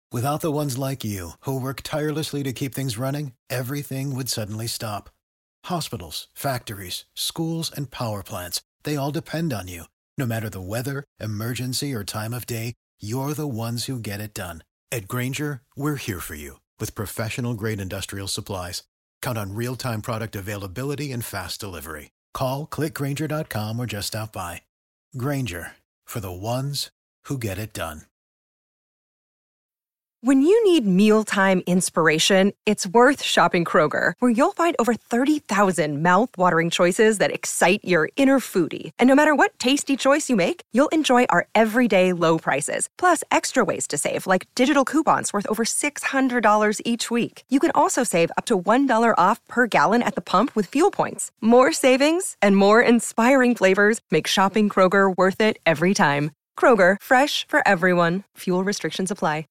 Without the ones like you, who work tirelessly to keep things running, everything would suddenly stop. Hospitals, factories, schools, and power plants, they all depend on you. No matter the weather, emergency, or time of day, you're the ones who get it done. At Grainger, we're here for you with professional-grade industrial supplies. Count on real-time product availability and fast delivery. Call, click Grainger.com, or just stop by. Grainger, for the ones who get it done. When you need mealtime inspiration, it's worth shopping Kroger, where you'll find over 30,000 mouth-watering choices that excite your inner foodie. And no matter what tasty choice you make, you'll enjoy our everyday low prices, plus extra ways to save, like digital coupons worth over $600 each week. You can also save up to $1 off per gallon at the pump with fuel points. More savings and more inspiring flavors make shopping Kroger worth it every time. Kroger, fresh for everyone. Fuel restrictions apply.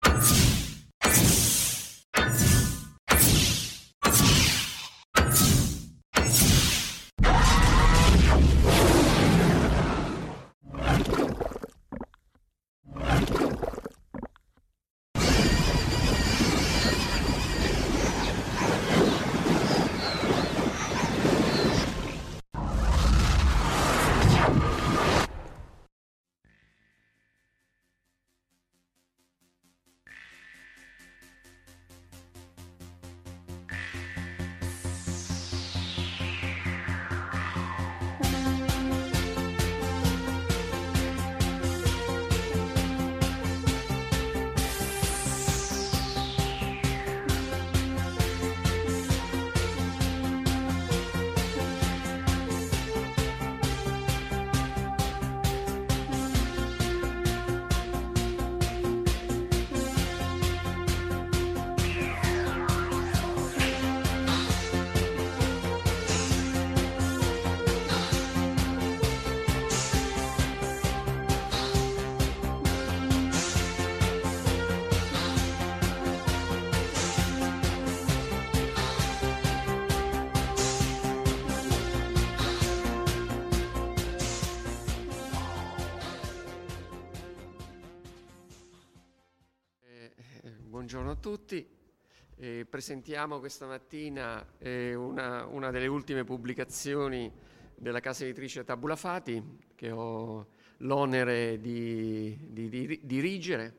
Buongiorno a tutti. Presentiamo questa mattina una delle ultime pubblicazioni della casa editrice Tabula Fati, che ho l'onere di dirigere.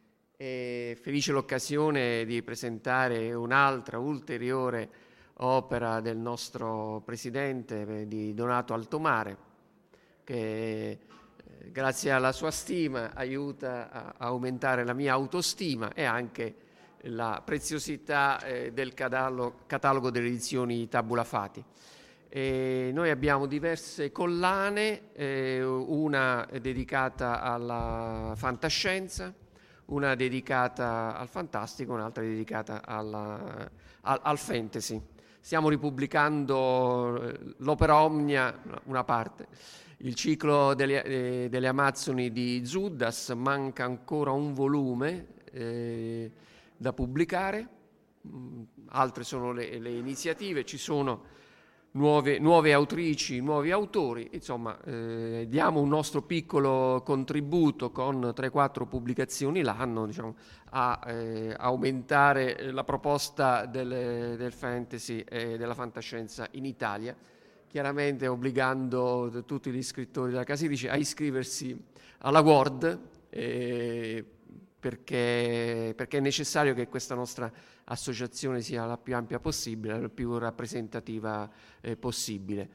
È felice l'occasione di presentare un'altra ulteriore opera del nostro presidente, di Donato Altomare, che grazie alla sua stima aiuta a aumentare la mia autostima e anche la preziosità del catalogo delle edizioni Tabula Fati. Noi abbiamo diverse collane, una dedicata alla fantascienza, una dedicata al fantastico, un'altra dedicata al fantasy. Stiamo ripubblicando l'opera omnia, una parte. Il ciclo delle Amazzoni di Zuddas, manca ancora un volume da pubblicare, altre sono le iniziative, ci sono nuove autrici, nuovi autori, insomma diamo un nostro piccolo contributo con 3-4 pubblicazioni l'anno, diciamo, a aumentare la proposta del fantasy e della fantascienza in Italia, chiaramente obbligando tutti gli scrittori della casa editrice a iscriversi alla Word, perché è necessario che questa nostra associazione sia la più ampia possibile, la più rappresentativa possibile.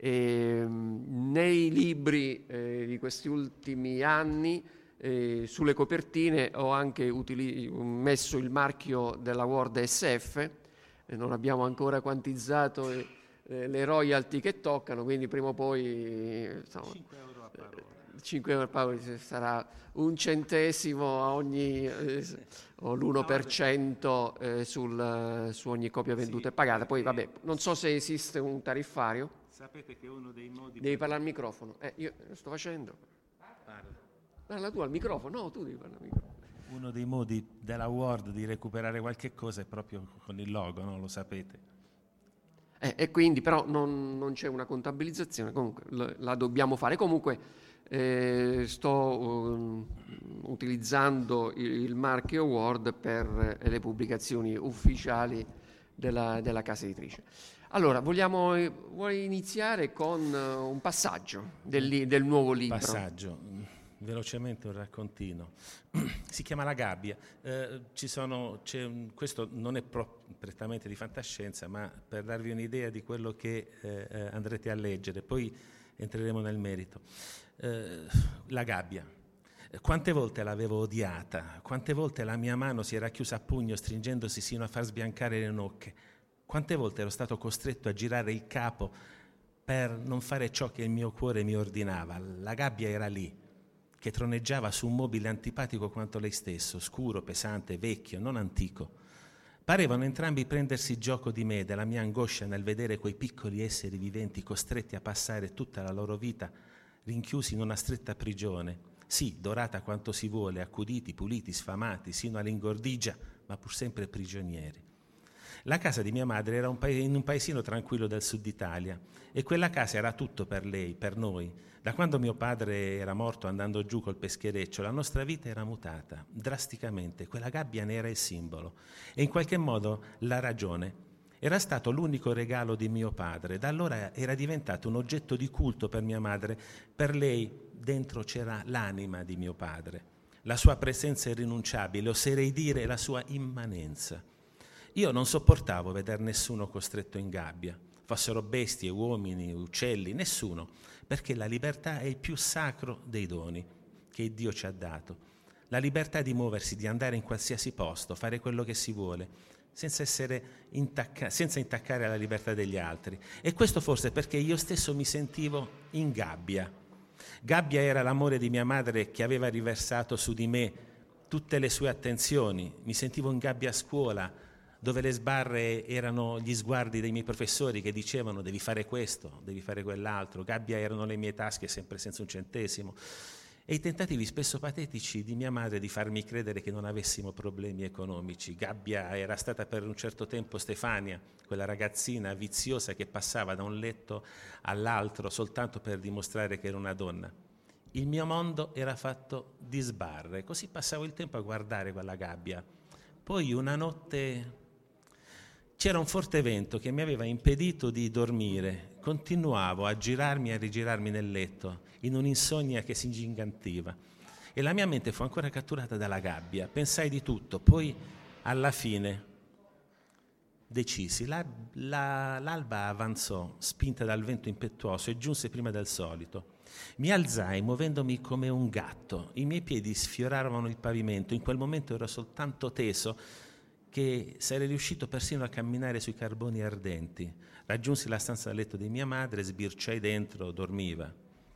Nei libri di questi ultimi anni, sulle copertine ho anche messo il marchio della Word SF, non abbiamo ancora quantizzato le royalty che toccano, quindi prima o poi insomma, 5 euro a parola. 5 euro a parola sarà un centesimo a ogni o l'1% su ogni copia venduta e pagata. Poi vabbè, non so se esiste un tariffario. Sapete che uno dei modi... Devi parlare al microfono. Io lo sto facendo. Parla tu al microfono. No, tu devi parlare al microfono. Uno dei modi della Word di recuperare qualche cosa è proprio con il logo, no? Lo sapete. E quindi però non c'è una contabilizzazione, comunque la dobbiamo fare. Comunque sto utilizzando il marchio Word per le pubblicazioni ufficiali della casa editrice. Allora, vuoi iniziare con un passaggio del nuovo libro? Passaggio, velocemente un raccontino. Si chiama La gabbia. Questo non è prettamente di fantascienza, ma per darvi un'idea di quello che andrete a leggere, poi entreremo nel merito. La gabbia. Quante volte l'avevo odiata, quante volte la mia mano si era chiusa a pugno stringendosi sino a far sbiancare le nocche, quante volte ero stato costretto a girare il capo per non fare ciò che il mio cuore mi ordinava. La gabbia era lì, che troneggiava su un mobile antipatico quanto lei stesso, scuro, pesante, vecchio, non antico. Parevano entrambi prendersi gioco di me, della mia angoscia nel vedere quei piccoli esseri viventi costretti a passare tutta la loro vita rinchiusi in una stretta prigione, sì, dorata quanto si vuole, accuditi, puliti, sfamati, sino all'ingordigia, ma pur sempre prigionieri. La casa di mia madre era in un paesino tranquillo del sud Italia e quella casa era tutto per lei, per noi. Da quando mio padre era morto andando giù col peschereccio, la nostra vita era mutata drasticamente. Quella gabbia ne era il simbolo e in qualche modo la ragione. Era stato l'unico regalo di mio padre. Da allora era diventato un oggetto di culto per mia madre. Per lei dentro c'era l'anima di mio padre, la sua presenza irrinunciabile, oserei dire la sua immanenza. Io non sopportavo vedere nessuno costretto in gabbia, fossero bestie, uomini, uccelli, nessuno, perché la libertà è il più sacro dei doni che Dio ci ha dato. La libertà di muoversi, di andare in qualsiasi posto, fare quello che si vuole, senza intaccare la libertà degli altri. E questo forse perché io stesso mi sentivo in gabbia. Gabbia era l'amore di mia madre che aveva riversato su di me tutte le sue attenzioni. Mi sentivo in gabbia a scuola, dove le sbarre erano gli sguardi dei miei professori che dicevano devi fare questo, devi fare quell'altro. Gabbia erano le mie tasche sempre senza un centesimo. E i tentativi spesso patetici di mia madre di farmi credere che non avessimo problemi economici. Gabbia era stata per un certo tempo Stefania, quella ragazzina viziosa che passava da un letto all'altro soltanto per dimostrare che era una donna. Il mio mondo era fatto di sbarre, così passavo il tempo a guardare quella gabbia. Poi una notte c'era un forte vento che mi aveva impedito di dormire. Continuavo a girarmi e a rigirarmi nel letto, in un'insonnia che si ingigantiva. E la mia mente fu ancora catturata dalla gabbia. Pensai di tutto, poi alla fine decisi. L'alba avanzò, spinta dal vento impetuoso, e giunse prima del solito. Mi alzai muovendomi come un gatto. I miei piedi sfioravano il pavimento. In quel momento ero soltanto teso che sarei riuscito persino a camminare sui carboni ardenti. Raggiunsi la stanza da letto di mia madre, sbirciai dentro, dormiva.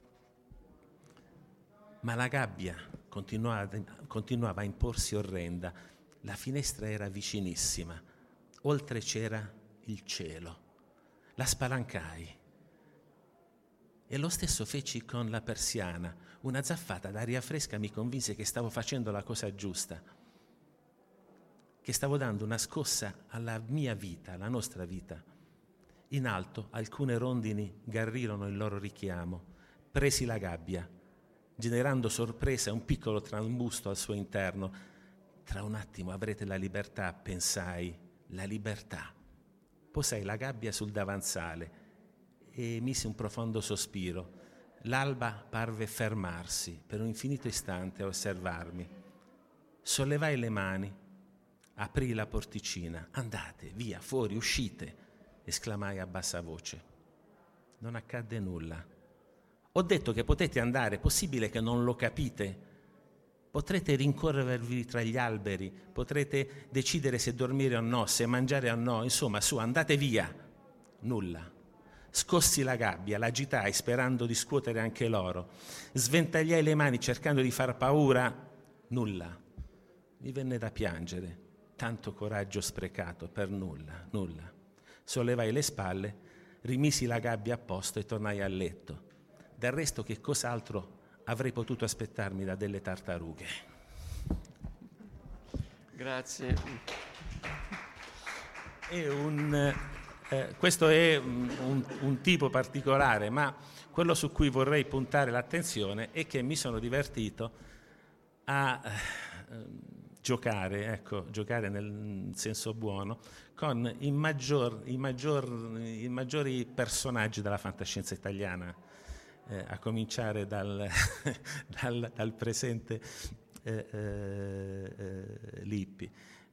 Ma la gabbia continuava a imporsi orrenda. La finestra era vicinissima. Oltre c'era il cielo. La spalancai. E lo stesso feci con la persiana. Una zaffata d'aria fresca mi convinse che stavo facendo la cosa giusta, che stavo dando una scossa alla mia vita, alla nostra vita. In alto alcune rondini garrirono il loro richiamo. Presi la gabbia, generando sorpresa e un piccolo trambusto al suo interno. Tra un attimo avrete la libertà, pensai, la libertà. Posai la gabbia sul davanzale e misi un profondo sospiro. L'alba parve fermarsi per un infinito istante a osservarmi. Sollevai le mani, aprì la porticina. Andate, via, fuori, uscite, esclamai a bassa voce. Non accadde nulla. Ho detto che potete andare, è possibile che non lo capite? Potrete rincorrervi tra gli alberi, potrete decidere se dormire o no, se mangiare o no, insomma, su, andate via. Nulla. Scossi la gabbia, l'agitai sperando di scuotere anche loro. Sventagliai le mani cercando di far paura. Nulla. Mi venne da piangere. Tanto coraggio sprecato per nulla, nulla. Sollevai le spalle, rimisi la gabbia a posto e tornai a letto. Del resto che cos'altro avrei potuto aspettarmi da delle tartarughe? Grazie. È un Questo è un tipo particolare, ma quello su cui vorrei puntare l'attenzione è che mi sono divertito a giocare nel senso buono, con i maggiori personaggi della fantascienza italiana, a cominciare dal presente Lippi.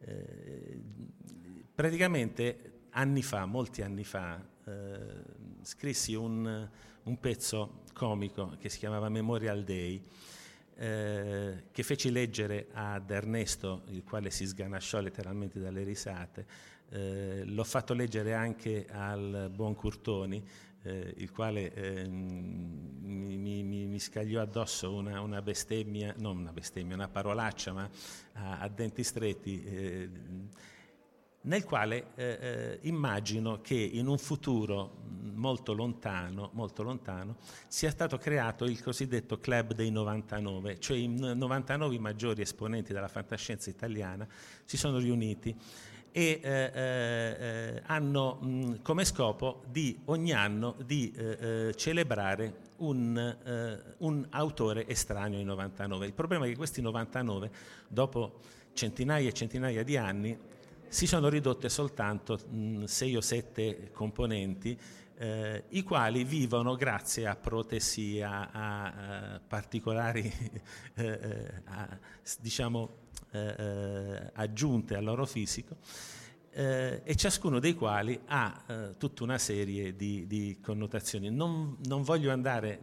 Praticamente molti anni fa, scrissi un pezzo comico che si chiamava Memorial Day, che feci leggere ad Ernesto, il quale si sganasciò letteralmente dalle risate. L'ho fatto leggere anche al buon Curtoni, il quale mi scagliò addosso una bestemmia, non una bestemmia, una parolaccia, ma a denti stretti, nel quale immagino che in un futuro molto lontano sia stato creato il cosiddetto Club dei 99, cioè i 99 i maggiori esponenti della fantascienza italiana si sono riuniti e hanno come scopo ogni anno di celebrare un autore estraneo ai 99. Il problema è che questi 99, dopo centinaia e centinaia di anni, si sono ridotte soltanto 6 o 7 componenti, i quali vivono grazie a protesi, a particolari aggiunte al loro fisico, e ciascuno dei quali ha tutta una serie di connotazioni. Non voglio andare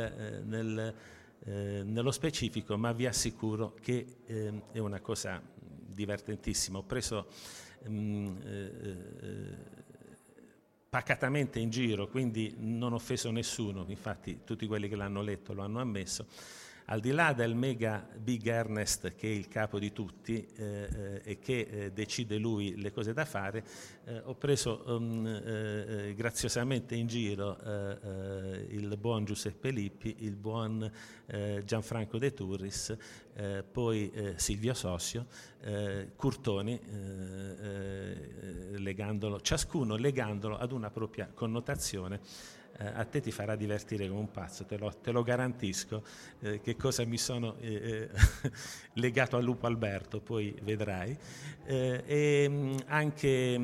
nello specifico, ma vi assicuro che è una cosa divertentissima. Ho preso pacatamente in giro, quindi non ho offeso nessuno, infatti tutti quelli che l'hanno letto lo hanno ammesso. Al di là del mega Big Ernest, che è il capo di tutti e che decide lui le cose da fare, ho preso graziosamente in giro il buon Giuseppe Lippi, il buon Gianfranco De Turris, poi Silvio Sossio, Curtoni, ciascuno legandolo ad una propria connotazione. A te ti farà divertire come un pazzo, te lo garantisco, che cosa mi sono legato al Lupo Alberto, poi vedrai, e anche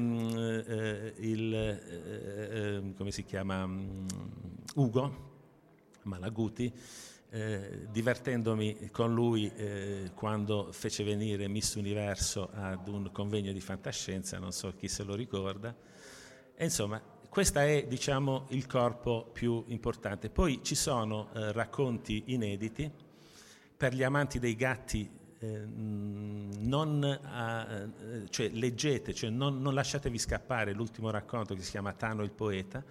come si chiama, Ugo Malaguti, divertendomi con lui quando fece venire Miss Universo ad un convegno di fantascienza, non so chi se lo ricorda, e insomma questo è, diciamo, il corpo più importante. Poi ci sono racconti inediti per gli amanti dei gatti. Cioè leggete, cioè non lasciatevi scappare l'ultimo racconto che si chiama Tano il poeta,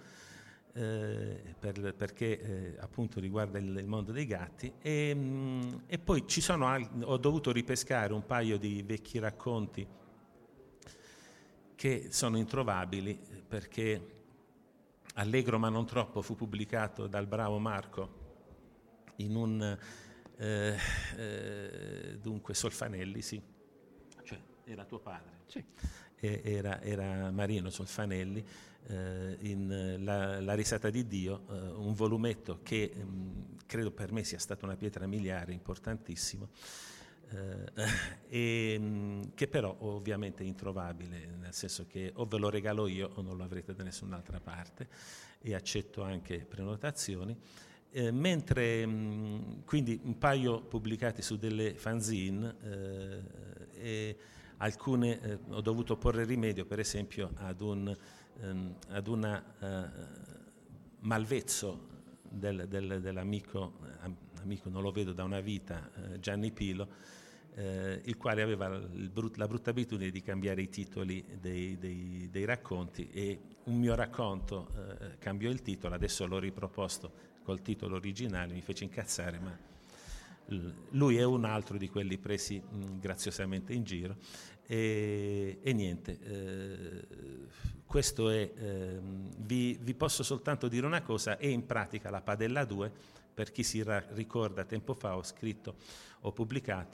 perché appunto riguarda il mondo dei gatti, e poi ho dovuto ripescare un paio di vecchi racconti che sono introvabili, perché Allegro ma non troppo fu pubblicato dal bravo Marco in un dunque Solfanelli, sì, cioè era tuo padre, sì. Era Marino Solfanelli, in la risata di Dio, un volumetto che credo per me sia stata una pietra miliare, importantissimo, e che però ovviamente è introvabile, nel senso che o ve lo regalo io o non lo avrete da nessun'altra parte, e accetto anche prenotazioni, mentre quindi un paio pubblicati su delle fanzine, e alcune ho dovuto porre rimedio, per esempio ad una malvezzo dell'amico, non lo vedo da una vita, Gianni Pilo, il quale aveva la brutta abitudine di cambiare i titoli dei racconti, e un mio racconto cambiò il titolo, adesso l'ho riproposto col titolo originale, mi fece incazzare, ma lui è un altro di quelli presi graziosamente in giro, e niente, questo è, vi posso soltanto dire una cosa: è in pratica la Padella 2, per chi si ricorda, tempo fa ho pubblicato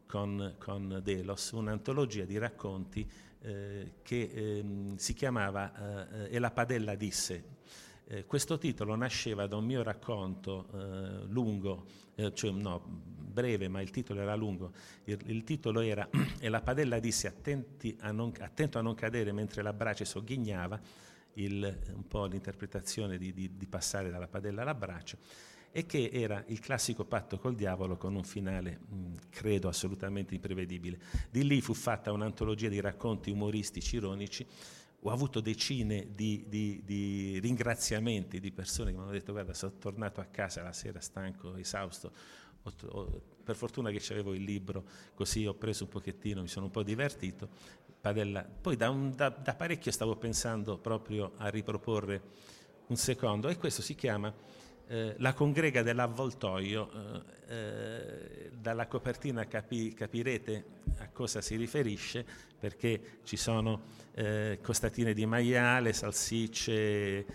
con Delos, un'antologia di racconti che si chiamava E la padella disse. Questo titolo nasceva da un mio racconto lungo, breve, ma il titolo era lungo. Il titolo era E la padella disse attento a non cadere mentre la brace sogghignava, un po' l'interpretazione di passare dalla padella alla brace, e che era il classico patto col diavolo con un finale, credo, assolutamente imprevedibile. Di lì fu fatta un'antologia di racconti umoristici, ironici. Ho avuto decine di ringraziamenti di persone che mi hanno detto: guarda, sono tornato a casa la sera stanco, esausto, per fortuna che c'avevo il libro, così ho preso un pochettino, mi sono un po' divertito. Poi da parecchio stavo pensando proprio a riproporre un secondo, e questo si chiama La congrega dell'avvoltoio. Dalla copertina capirete a cosa si riferisce, perché ci sono costatine di maiale, salsicce,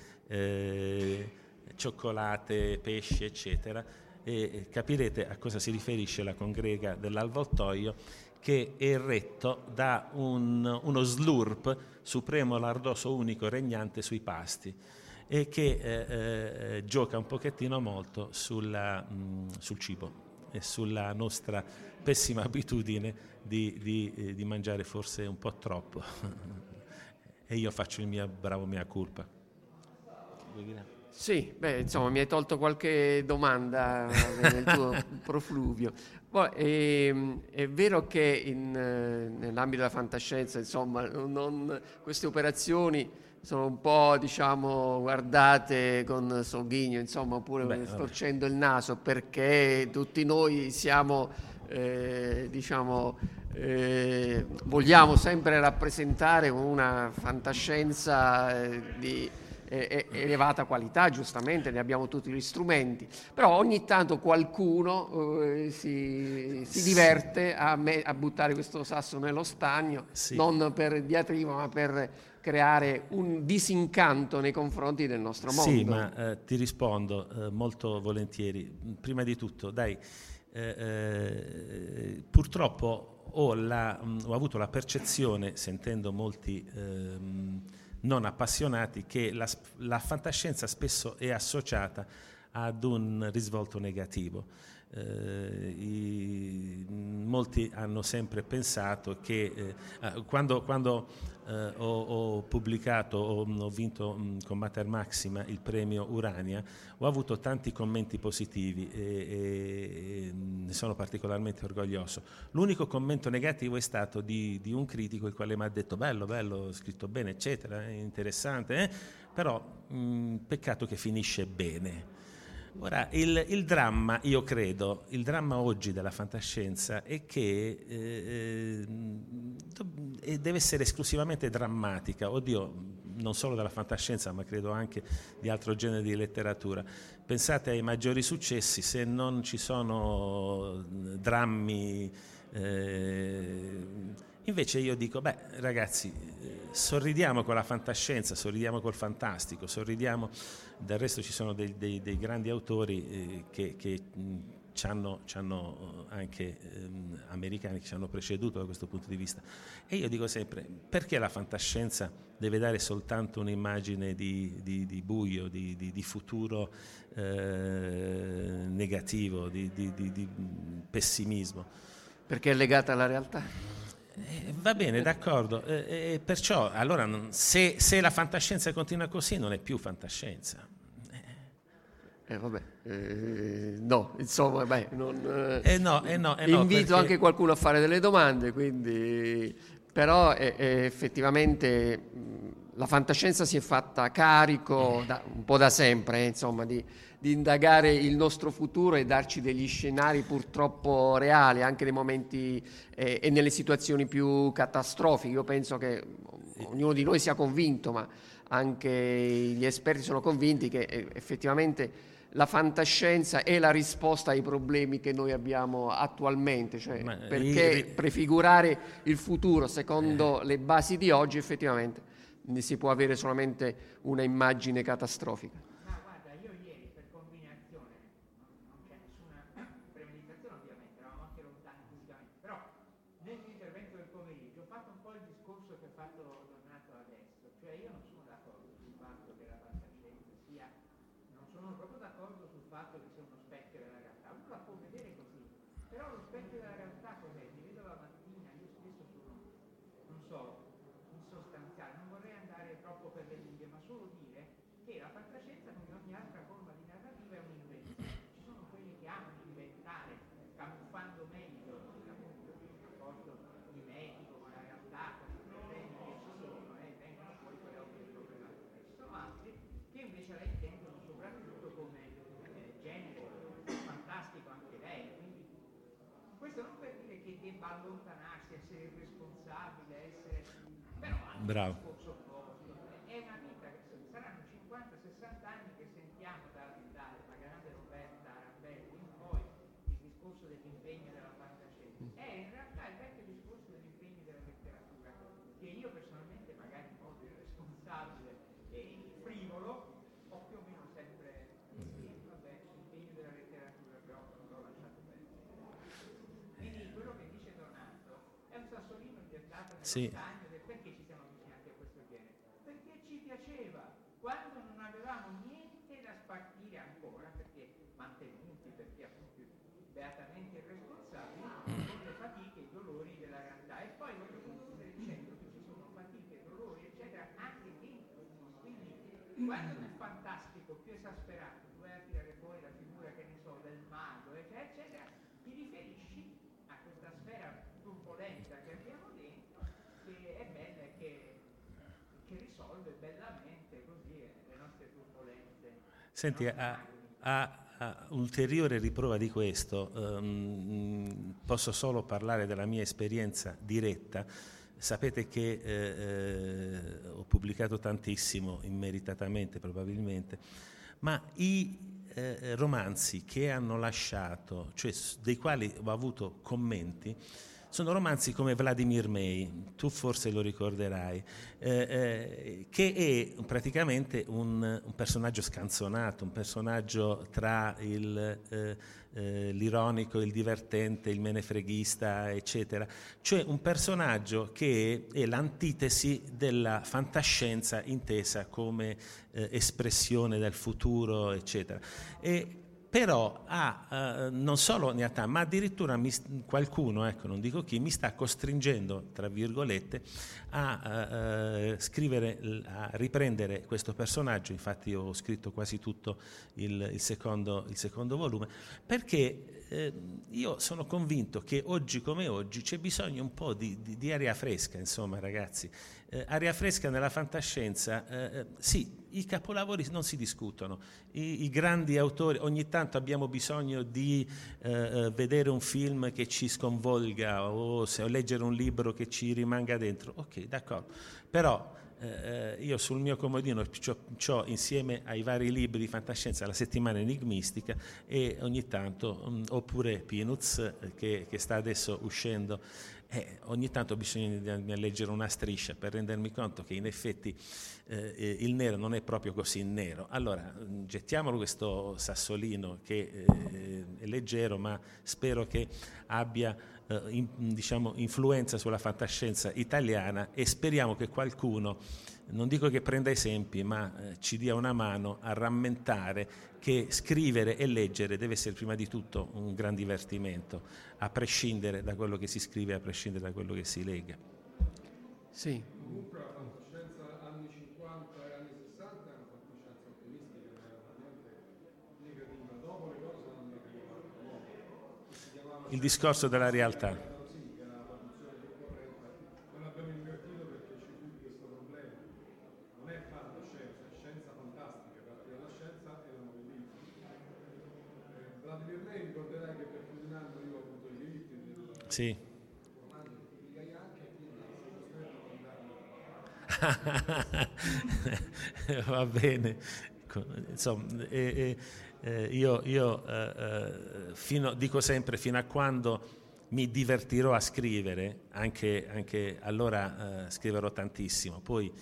cioccolate, pesci, eccetera, e capirete a cosa si riferisce la congrega dell'avvoltoio, che è retto da uno slurp supremo, lardoso, unico, regnante sui pasti, e che gioca un pochettino molto sul cibo e sulla nostra pessima abitudine di mangiare forse un po' troppo. E io faccio il mio bravo mea culpa. Sì, insomma, mi hai tolto qualche domanda nel tuo profluvio. È vero che nell'ambito della fantascienza, insomma, queste operazioni sono un po', diciamo, guardate con sogghigno, insomma, oppure storcendo il naso, perché tutti noi siamo, vogliamo sempre rappresentare una fantascienza di elevata qualità, giustamente, ne abbiamo tutti gli strumenti, però ogni tanto qualcuno si diverte a buttare questo sasso nello stagno, sì, non per diatriba, ma per creare un disincanto nei confronti del nostro mondo. Sì, ma ti rispondo molto volentieri. Prima di tutto, purtroppo ho avuto la percezione, sentendo molti non appassionati, che la fantascienza spesso è associata ad un risvolto negativo. Molti hanno sempre pensato che quando ho pubblicato, ho vinto con Mater Maxima il premio Urania, ho avuto tanti commenti positivi e ne sono particolarmente orgoglioso. L'unico commento negativo è stato di un critico, il quale mi ha detto bello, scritto bene, eccetera, interessante, però peccato che finisce bene. Ora, il dramma, io credo, il dramma oggi della fantascienza è che deve essere esclusivamente drammatica, non solo della fantascienza, ma credo anche di altro genere di letteratura. Pensate ai maggiori successi, se non ci sono drammi. Invece io dico, ragazzi, sorridiamo con la fantascienza, sorridiamo col fantastico, sorridiamo. Del resto ci sono dei grandi autori che ci hanno anche americani che ci hanno preceduto da questo punto di vista. E io dico sempre, perché la fantascienza deve dare soltanto un'immagine di buio, di futuro negativo, di pessimismo? Perché è legata alla realtà. Va bene, d'accordo. Perciò, allora, se la fantascienza continua così, non è più fantascienza. No, insomma, no, invito perché anche qualcuno a fare delle domande, quindi, però effettivamente la fantascienza si è fatta carico un po' da sempre, insomma, di indagare il nostro futuro e darci degli scenari purtroppo reali, anche nei momenti e nelle situazioni più catastrofiche. Io penso che ognuno di noi sia convinto, ma anche gli esperti sono convinti che effettivamente la fantascienza è la risposta ai problemi che noi abbiamo attualmente, cioè perché prefigurare il futuro secondo le basi di oggi effettivamente ne si può avere solamente una immagine catastrofica. No, guarda, io ieri per combinazione, non c'è nessuna premeditazione ovviamente, eravamo anche lontani fisicamente, però fatto Donato adesso, cioè io non sono d'accordo sul fatto che la fantascienza sia, non sono proprio d'accordo sul fatto che sia uno specchio della realtà, uno la può vedere così, però lo specchio della realtà cos'è? Mi vedo la mattina, io stesso sono, non so, insostanziale, non vorrei andare troppo per le lunghe, ma solo dire che la fantascienza, come ogni altra forma di narrativa, è un'invenzione. Ci sono quelli che amano inventare, camuffando meglio appunto il rapporto mimetico con la realtà, con i problemi che ci sono, e vengono poi quelle opere problematiche. Ci sono altri che invece la intendono soprattutto come genere fantastico anche lei, quindi questo non per dire che debba allontanarsi, essere irresponsabile, essere però anche Bravo. un discorso opposto. È una vita che saranno 50-60 anni che sentiamo dalla grande Roberta Arambelli in poi il discorso dell'impegno della fantascienza. È in realtà il vecchio discorso dell'impegno della letteratura, che io personalmente magari in modo irresponsabile e frivolo ho più o meno sempre sì, vabbè, l'impegno della letteratura però non l'ho lasciato perdere. Quindi quello che dice Donato è un sassolino gettato nello stagno del perché ci siamo avvicinati a questo genere. Perché ci piaceva, quando non avevamo niente da spartire ancora, perché mantenuti, perché appunto beatamente irresponsabili, con le fatiche e i dolori della realtà. E poi voglio concludere dicendo che ci sono fatiche, dolori, eccetera, anche dentro. Quindi quando nel fantastico più esasperato tu vai a tirare fuori la figura, che ne so, del mago, eccetera, eccetera, ti riferisci a questa sfera turbolenta che abbiamo dentro, che è bella e che risolve bellamente così le nostre turbolenze. Senti, a ulteriore riprova di questo, posso solo parlare della mia esperienza diretta. Sapete che ho pubblicato tantissimo, immeritatamente probabilmente, ma i romanzi che hanno lasciato, cioè dei quali ho avuto commenti, sono romanzi come Vladimir May, tu forse lo ricorderai, che è praticamente un personaggio scanzonato, un personaggio tra l'ironico, il divertente, il menefreghista, eccetera. Cioè un personaggio che è l'antitesi della fantascienza intesa come espressione del futuro, eccetera. Però non solo ne ha tanti, ma addirittura qualcuno, ecco, non dico chi, mi sta costringendo, tra virgolette, a scrivere, a riprendere questo personaggio. Infatti ho scritto quasi tutto il secondo volume, perché io sono convinto che oggi come oggi c'è bisogno un po' di aria fresca, insomma, ragazzi. Aria fresca nella fantascienza, sì, i capolavori non si discutono, i grandi autori, ogni tanto abbiamo bisogno di vedere un film che ci sconvolga o leggere un libro che ci rimanga dentro, ok, d'accordo, però io sul mio comodino c'ho insieme ai vari libri di fantascienza la settimana enigmistica e ogni tanto, oppure Peanuts che sta adesso uscendo, ogni tanto ho bisogno di leggere una striscia per rendermi conto che in effetti il nero non è proprio così nero. Allora gettiamolo questo sassolino che è leggero, ma spero che abbia diciamo influenza sulla fantascienza italiana, e speriamo che qualcuno, non dico che prenda esempi, ma ci dia una mano a rammentare che scrivere e leggere deve essere prima di tutto un gran divertimento, a prescindere da quello che si scrive, a prescindere da quello che si legge. Sì. Comunque la fantascienza anni 50 e anni 60 è una fantascienza ottimistica, veramente negativa. Dopo le cose sono negative. Il discorso della realtà. Sì, che era la traduzione più corretta. Non l'abbiamo invertito perché c'è più questo problema. Non è fantascienza, è scienza fantastica, perché la scienza è la novellina. Vladimir May, ricorderai che per più di un anno io ho avuto i diritti del Sì. romanzo che pubblicai anche, quindi sono costretto a mandarlo. Va bene, insomma, io dico sempre, fino a quando mi divertirò a scrivere, anche allora scriverò tantissimo. Poi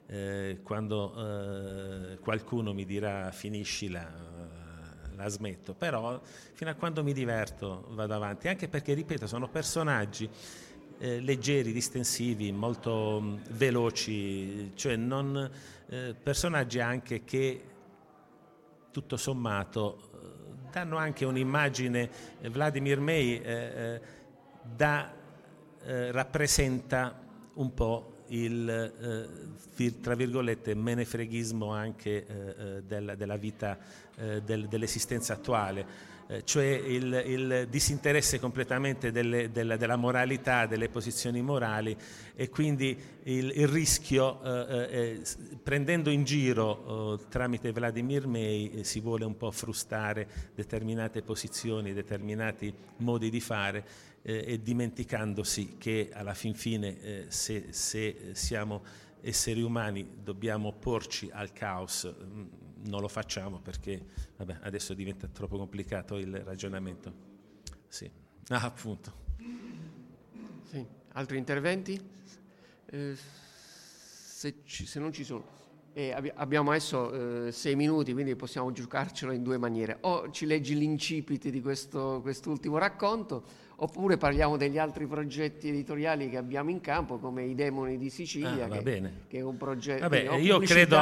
quando qualcuno mi dirà finiscila, la smetto, però fino a quando mi diverto vado avanti, anche perché, ripeto, sono personaggi leggeri, distensivi, molto veloci, cioè non, personaggi anche che tutto sommato danno anche un'immagine. Vladimir May rappresenta un po' il tra virgolette menefreghismo anche della vita, dell'esistenza attuale, cioè il disinteresse completamente della moralità, delle posizioni morali, e quindi il rischio, prendendo in giro tramite Vladimir May, si vuole un po' frustare determinate posizioni, determinati modi di fare, e dimenticandosi che alla fin fine se siamo esseri umani dobbiamo opporci al caos. Non lo facciamo perché adesso diventa troppo complicato il ragionamento. Sì. Appunto. Sì. Altri interventi? Se non ci sono, abbiamo adesso 6 minuti, quindi possiamo giocarcelo in due maniere: o ci leggi l'incipit di quest'ultimo racconto, oppure parliamo degli altri progetti editoriali che abbiamo in campo, come I Demoni di Sicilia, che è un progetto. Io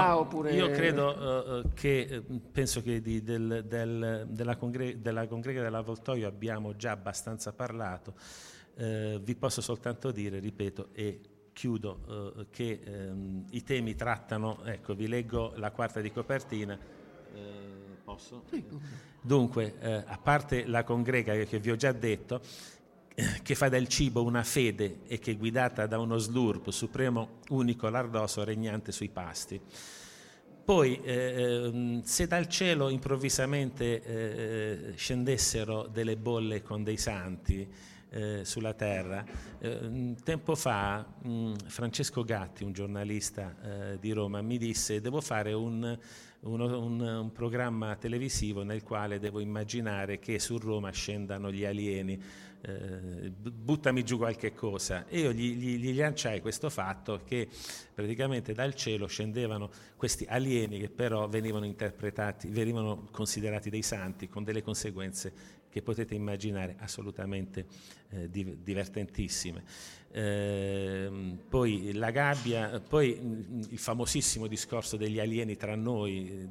credo che penso che della congrega dell'Avvoltoio abbiamo già abbastanza parlato. Vi posso soltanto dire, ripeto e chiudo, che i temi trattano, ecco, vi leggo la quarta di copertina. Posso? Dunque, a parte la congrega che vi ho già detto, che fa del cibo una fede e che è guidata da uno slurp supremo, unico, lardoso, regnante sui pasti. Poi, se dal cielo improvvisamente scendessero delle bolle con dei santi sulla terra, tempo fa Francesco Gatti, un giornalista di Roma, mi disse: devo fare un programma televisivo nel quale devo immaginare che su Roma scendano gli alieni, buttami giù qualche cosa. E io gli lanciai questo fatto che praticamente dal cielo scendevano questi alieni che però venivano considerati dei santi, con delle conseguenze che potete immaginare assolutamente divertentissime. Poi la gabbia, poi il famosissimo discorso degli alieni tra noi,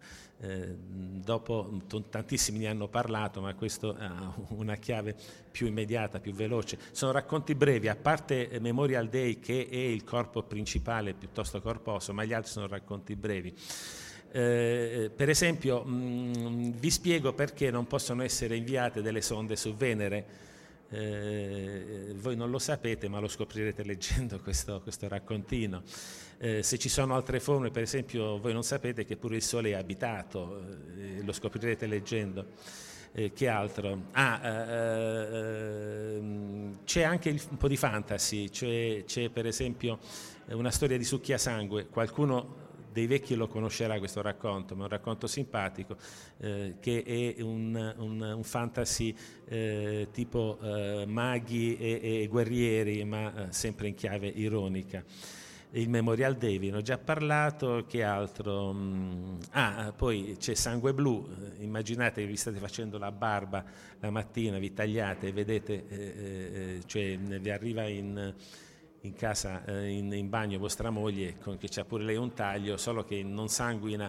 dopo tantissimi ne hanno parlato, ma questo ha una chiave più immediata, più veloce. Sono racconti brevi, a parte Memorial Day, che è il corpo principale piuttosto corposo, ma gli altri sono racconti brevi. Per esempio, vi spiego perché non possono essere inviate delle sonde su Venere. Voi non lo sapete, ma lo scoprirete leggendo questo raccontino. Se ci sono altre forme, per esempio, voi non sapete che pure il Sole è abitato, lo scoprirete leggendo. Che altro? C'è anche un po' di fantasy, c'è per esempio una storia di succhiasangue. Qualcuno dei vecchi lo conoscerà questo racconto, ma è un racconto simpatico, che è un fantasy tipo maghi e guerrieri, ma sempre in chiave ironica. Il Memorial Day, vi ho già parlato. Che altro? Poi c'è Sangue Blu. Immaginate che vi state facendo la barba la mattina, vi tagliate e vedete, cioè vi arriva in casa, in bagno, vostra moglie, che c'ha pure lei un taglio, solo che non sanguina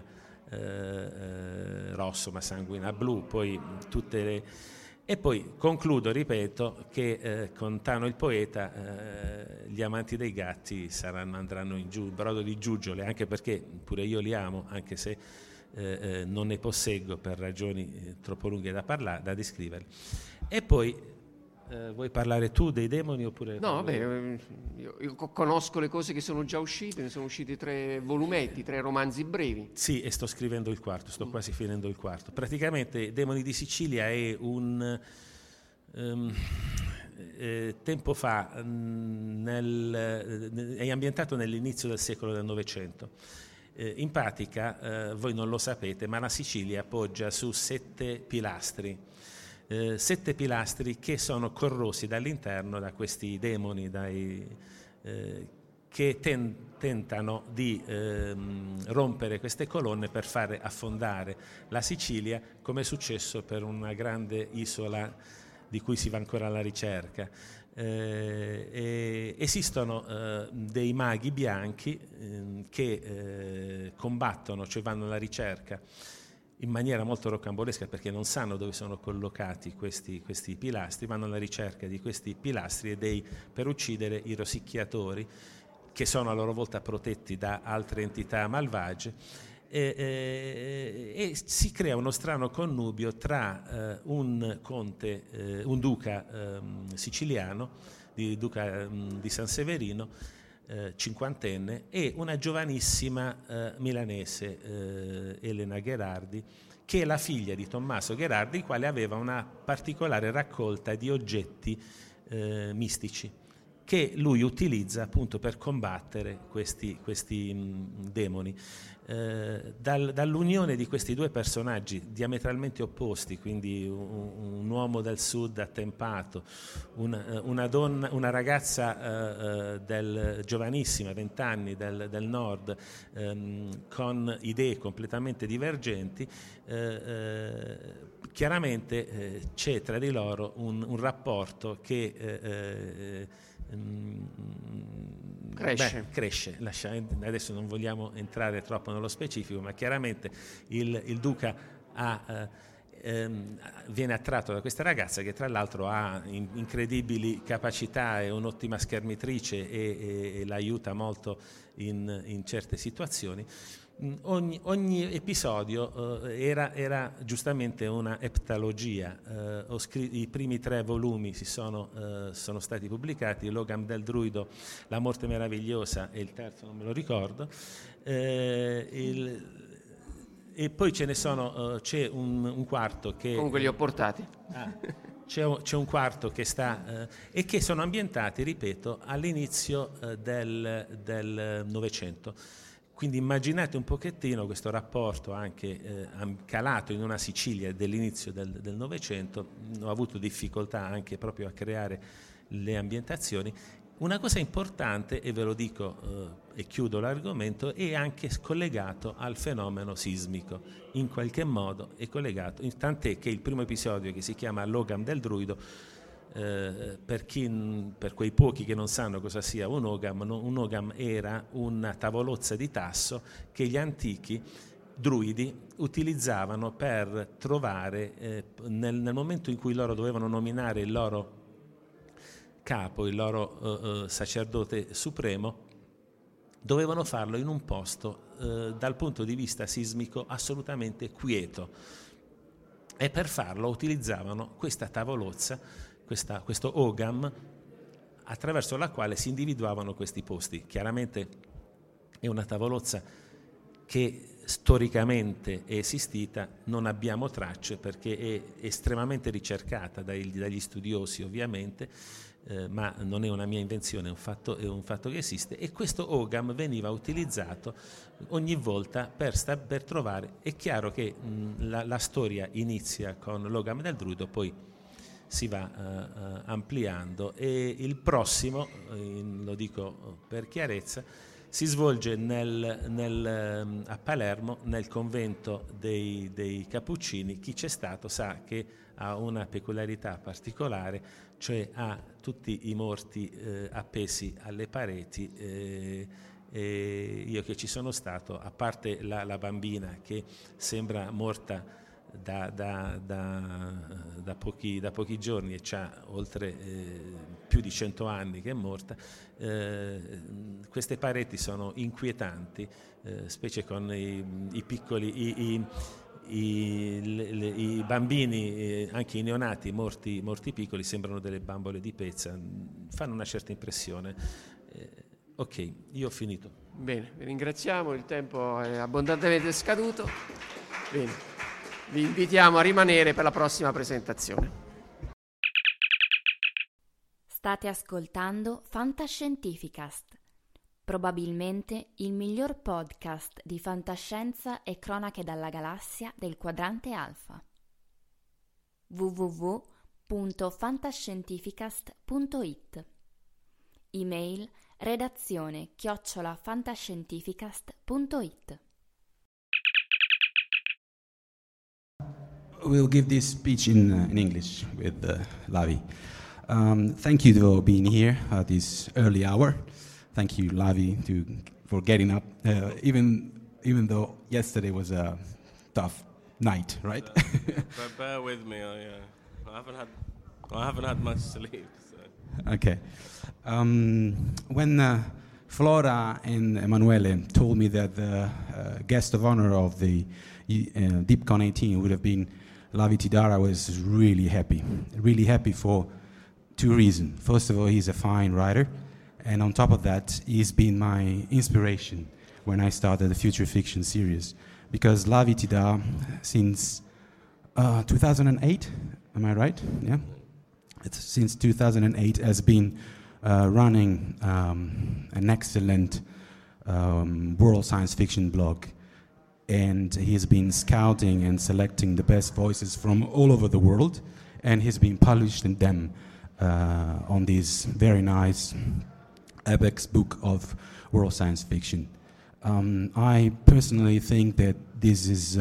rosso, ma sanguina blu. Poi e poi concludo, ripeto, che con Tano il poeta gli amanti dei gatti andranno in giù, brodo di giuggiole, anche perché pure io li amo, anche se non ne posseggo per ragioni troppo lunghe da descrivere. E poi vuoi parlare tu dei demoni oppure? No, vabbè, io conosco le cose che sono già uscite, ne sono usciti 3 volumetti, 3 romanzi brevi. Sì, e sto scrivendo il quarto, sto quasi finendo il quarto. Praticamente Demoni di Sicilia è tempo fa, è ambientato nell'inizio del secolo del Novecento. In pratica, voi non lo sapete, ma la Sicilia poggia su 7 pilastri. 7 pilastri che sono corrosi dall'interno da questi demoni che tentano di rompere queste colonne per fare affondare la Sicilia, come è successo per una grande isola di cui si va ancora alla ricerca. Esistono dei maghi bianchi che combattono, cioè vanno alla ricerca in maniera molto rocambolesca, perché non sanno dove sono collocati questi pilastri, vanno alla ricerca di questi pilastri per uccidere i rosicchiatori, che sono a loro volta protetti da altre entità malvagie. E si crea uno strano connubio tra un duca siciliano, duca di San Severino, cinquantenne, e una giovanissima milanese, Elena Gherardi, che è la figlia di Tommaso Gherardi, il quale aveva una particolare raccolta di oggetti mistici che lui utilizza appunto per combattere questi demoni. Dall'unione di questi due personaggi diametralmente opposti, quindi un uomo del sud attempato, una ragazza giovanissima, 20 anni, del nord, con idee completamente divergenti, chiaramente c'è tra di loro un rapporto che cresce. Adesso non vogliamo entrare troppo nello specifico, ma chiaramente il duca viene attratto da questa ragazza, che tra l'altro ha incredibili capacità, è un'ottima schermitrice e l'aiuta molto in certe situazioni. Ogni episodio era giustamente una eptalogia. I primi 3 volumi sono stati pubblicati: L'Ogam del Druido, La Morte Meravigliosa, e il terzo non me lo ricordo. E poi c'è un quarto che... Comunque li ho portati. C'è un quarto che sta e che sono ambientati, ripeto, all'inizio del Novecento. Quindi immaginate un pochettino questo rapporto anche calato in una Sicilia dell'inizio del Novecento. Ho avuto difficoltà anche proprio a creare le ambientazioni. Una cosa importante, e ve lo dico e chiudo l'argomento, è anche collegato al fenomeno sismico. In qualche modo è collegato, tant'è che il primo episodio, che si chiama L'Ogam del Druido, per quei pochi che non sanno cosa sia un ogam era una tavolozza di tasso che gli antichi druidi utilizzavano per trovare, nel momento in cui loro dovevano nominare il loro capo, il loro sacerdote supremo, dovevano farlo in un posto dal punto di vista sismico assolutamente quieto, e per farlo utilizzavano questa tavolozza, questo ogam, attraverso la quale si individuavano questi posti. Chiaramente è una tavolozza che storicamente è esistita, non abbiamo tracce perché è estremamente ricercata dagli studiosi, ovviamente, ma non è una mia invenzione, è un fatto che esiste, e questo ogam veniva utilizzato ogni volta per trovare. È chiaro che la storia inizia con l'ogam del druido, poi si va ampliando, e il prossimo, lo dico per chiarezza, si svolge a Palermo, nel convento dei Cappuccini. Chi c'è stato sa che ha una peculiarità particolare, cioè ha tutti i morti appesi alle pareti, e io che ci sono stato, a parte la bambina che sembra morta da pochi giorni e c'ha oltre più di 100 anni che è morta, queste pareti sono inquietanti, specie con i piccoli i bambini, anche i neonati morti piccoli, sembrano delle bambole di pezza, fanno una certa impressione. Ok, io ho finito. Bene, vi ringraziamo, il tempo è abbondantemente scaduto. Bene. Vi invitiamo a rimanere per la prossima presentazione. State ascoltando Fantascientificast, probabilmente il miglior podcast di fantascienza e cronache dalla galassia del quadrante alfa. www.fantascientificast.it. Email redazione@fantascientificast.it. We'll give this speech in English with Lavi. Thank you for being here at this early hour. Thank you, Lavi, for getting up, even though yesterday was a tough night, right? But bear with me. I haven't had much sleep. So. Okay. When Flora and Emanuele told me that the guest of honor of the DeepCon 18 would have been Lavi Tidhar, I was really happy for two reasons. First of all, he's a fine writer, and on top of that, he's been my inspiration when I started the Future Fiction series. Because Lavi Tidhar, since 2008, am I right? Yeah? Since 2008 has been running an excellent world science fiction blog. And he's been scouting and selecting the best voices from all over the world, and he's been publishing them on this very nice Apex book of world science fiction. I personally think that this is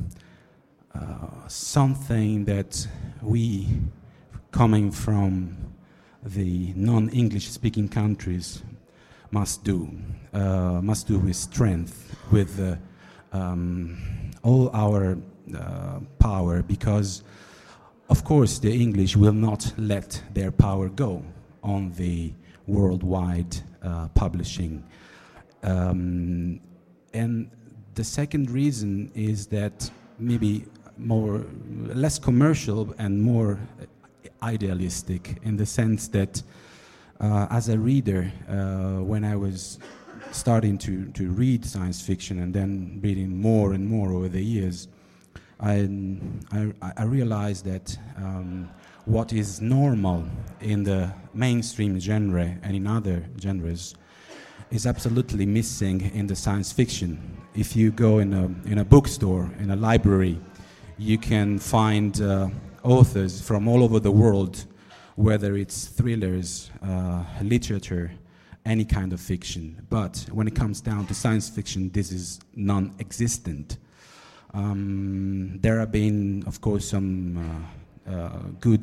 something that we, coming from the non-English speaking countries, must do with strength, with all our power, because of course the English will not let their power go on the worldwide publishing. And the second reason is that maybe less commercial and more idealistic, in the sense that as a reader, when I was starting to read science fiction and then reading more and more over the years, I realized that what is normal in the mainstream genre and in other genres is absolutely missing in the science fiction. If you go in a bookstore, in a library, you can find authors from all over the world, whether it's thrillers, literature, any kind of fiction. But when it comes down to science fiction, this is non-existent. There have been, of course, some good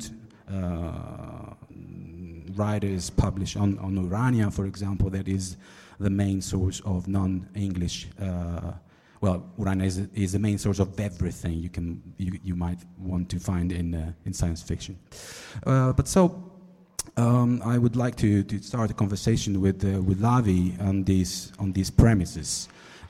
writers published on Urania, for example, that is the main source of non-English. Urania is the main source of everything you might want to find in science fiction. I would like to start a conversation with Lavi on these premises.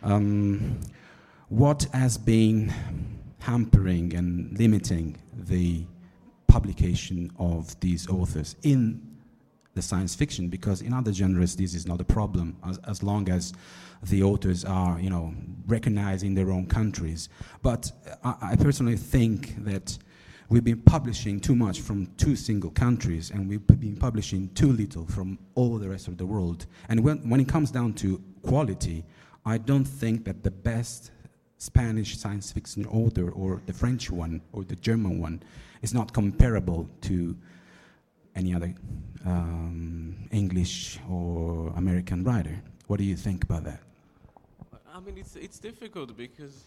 What has been hampering and limiting the publication of these authors in the science fiction? Because in other genres this is not a problem, as long as the authors are, recognized in their own countries. But I personally think that we've been publishing too much from two single countries, and we've been publishing too little from all the rest of the world. And when it comes down to quality, I don't think that the best Spanish science fiction author or the French one or the German one is not comparable to any other English or American writer. What do you think about that? I mean, it's difficult because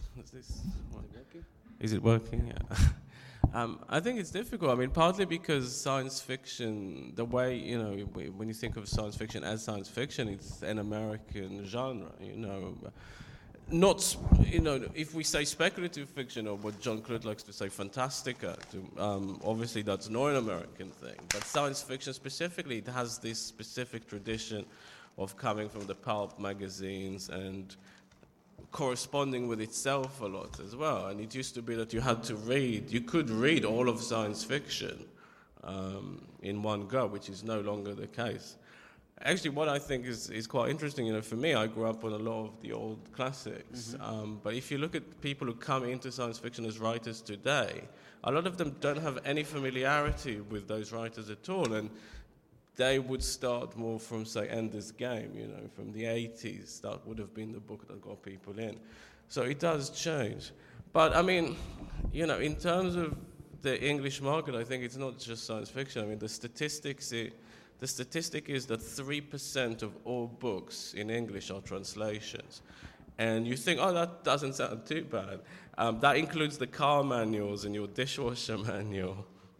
is it working? Yeah. I think it's difficult. I mean, partly because science fiction, the way, when you think of science fiction as science fiction, it's an American genre, Not, if we say speculative fiction, or what Jean-Claude likes to say, fantastica, obviously that's not an American thing. But science fiction specifically, it has this specific tradition of coming from the pulp magazines and corresponding with itself a lot as well. And it used to be that you could read all of science fiction in one go, which is no longer the case. Actually, what I think is quite interesting, for me, I grew up on a lot of the old classics. Mm-hmm. But if you look at people who come into science fiction as writers today, a lot of them don't have any familiarity with those writers at all. And they would start more from, say, Ender's Game, from the 80s. That would have been the book that got people in. So it does change. But, I mean, in terms of the English market, I think it's not just science fiction. I mean, the statistic is that 3% of all books in English are translations. And you think, that doesn't sound too bad. That includes the car manuals and your dishwasher manual.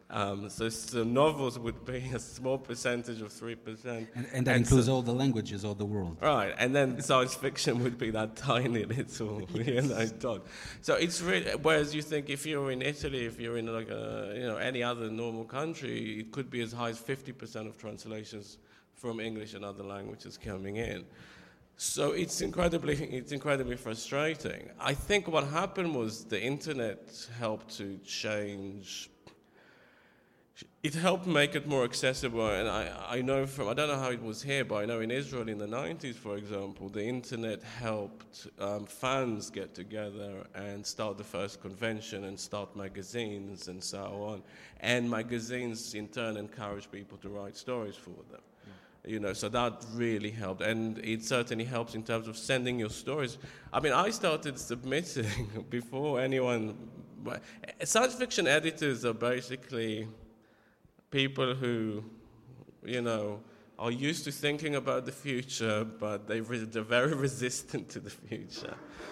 So novels would be a small percentage of 3%. And that includes all the languages of the world. Right, and then science fiction would be that tiny little, dot. So it's really, whereas you think if you're in Italy, if you're in like any other normal country, it could be as high as 50% of translations from English and other languages coming in. So it's incredibly frustrating. I think what happened was the internet helped to change. It helped make it more accessible, and I know I don't know how it was here, but I know in Israel in the 90s, for example, the internet helped fans get together and start the first convention and start magazines and so on. And magazines, in turn, encouraged people to write stories for them. So that really helped, and it certainly helps in terms of sending your stories. I mean, I started submitting before anyone. Science fiction editors are basically people who, are used to thinking about the future, but they're very resistant to the future.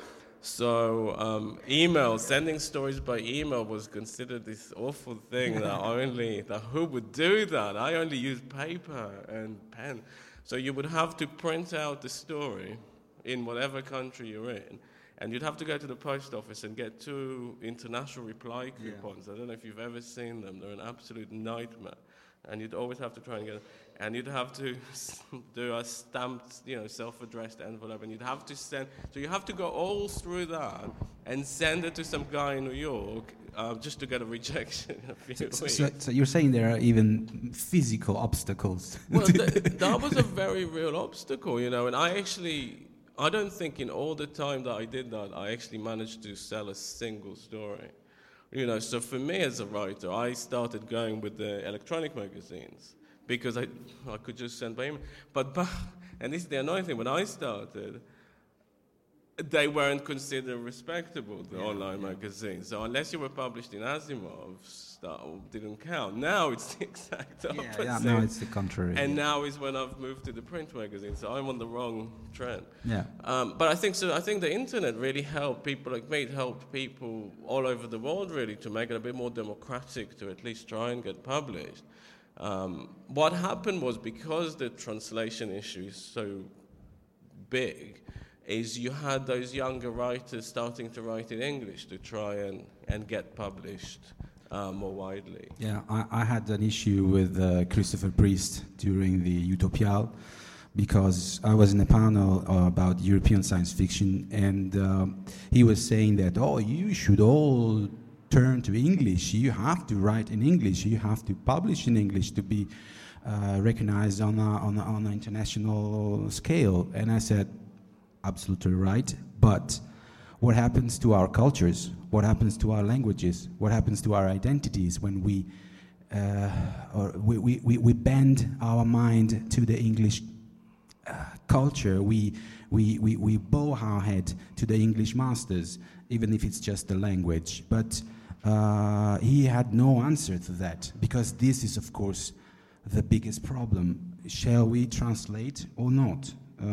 So sending stories by email was considered this awful thing that who would do that? I only use paper and pen. So you would have to print out the story in whatever country you're in, and you'd have to go to the post office and get 2 international reply coupons. Yeah. I don't know if you've ever seen them. They're an absolute nightmare. And you'd always have to try and get, and you'd have to do a stamped, self-addressed envelope, and you'd have to send. So you have to go all through that and send it to some guy in New York just to get a rejection in a few weeks. So you're saying there are even physical obstacles? Well, that was a very real obstacle, and I don't think in all the time that I did that, I actually managed to sell a single story. So for me as a writer, I started going with the electronic magazines because I could just send by email. But and this is the annoying thing, when I started, they weren't considered respectable, the online magazines. So unless you were published in Asimov's, that didn't count. Now it's the exact opposite. Yeah, now it's the contrary. And now is when I've moved to the print magazine, so I'm on the wrong trend. Yeah. But I think the internet really helped people like me. It helped people all over the world really to make it a bit more democratic to at least try and get published. What happened was, because the translation issue is so big, is you had those younger writers starting to write in English to try and get published more widely. Yeah, I had an issue with Christopher Priest during the Utopial, because I was in a panel about European science fiction, and he was saying that, you should all turn to English, you have to write in English, you have to publish in English to be recognized on an international scale. And I said, absolutely right, but what happens to our cultures? What happens to our languages? What happens to our identities when we bend our mind to the English culture? We bow our head to the English masters, even if it's just the language. But he had no answer to that, because this is, of course, the biggest problem. Shall we translate or not?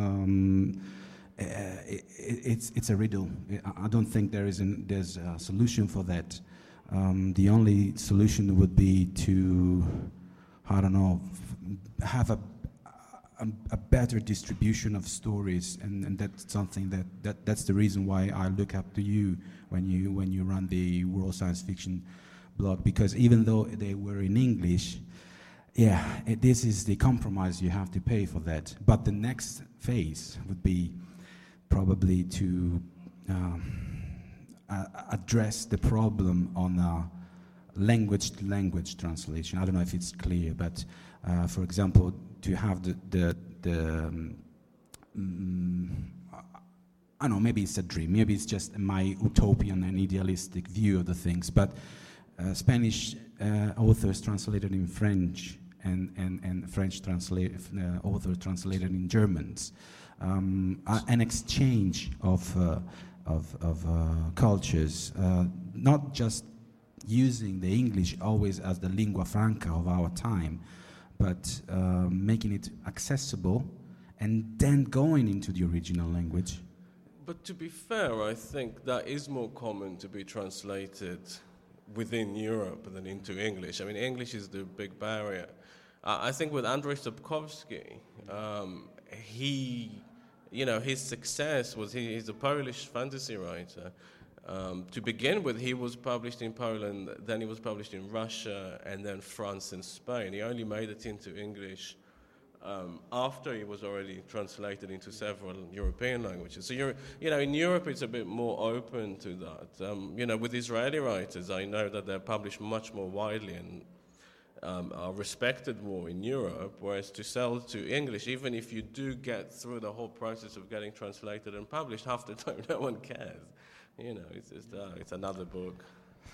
It's a riddle. I don't think there's a solution for that. The only solution would be to, have a better distribution of stories, and that's something that's the reason why I look up to you when you run the World Science Fiction blog, because even though they were in English, this is the compromise you have to pay for that. But the next phase would be probably to address the problem on language-to-language translation. I don't know if it's clear, but for example, to have I don't know, maybe it's a dream, maybe it's just my utopian and idealistic view of the things, but Spanish authors translated in French and French authors translated in Germans. An exchange of cultures, not just using the English always as the lingua franca of our time, but making it accessible and then going into the original language. But to be fair, I think that is more common to be translated within Europe than into English. I mean, English is the big barrier. I think with Andrzej Sapkowski, his success was he's a Polish fantasy writer. To begin with, he was published in Poland, then he was published in Russia, and then France and Spain. He only made it into English after he was already translated into several European languages. So, in Europe it's a bit more open to that. With Israeli writers, I know that they're published much more widely and are respected more in Europe, whereas to sell to English, even if you do get through the whole process of getting translated and published, half the time no one cares. It's just, it's another book.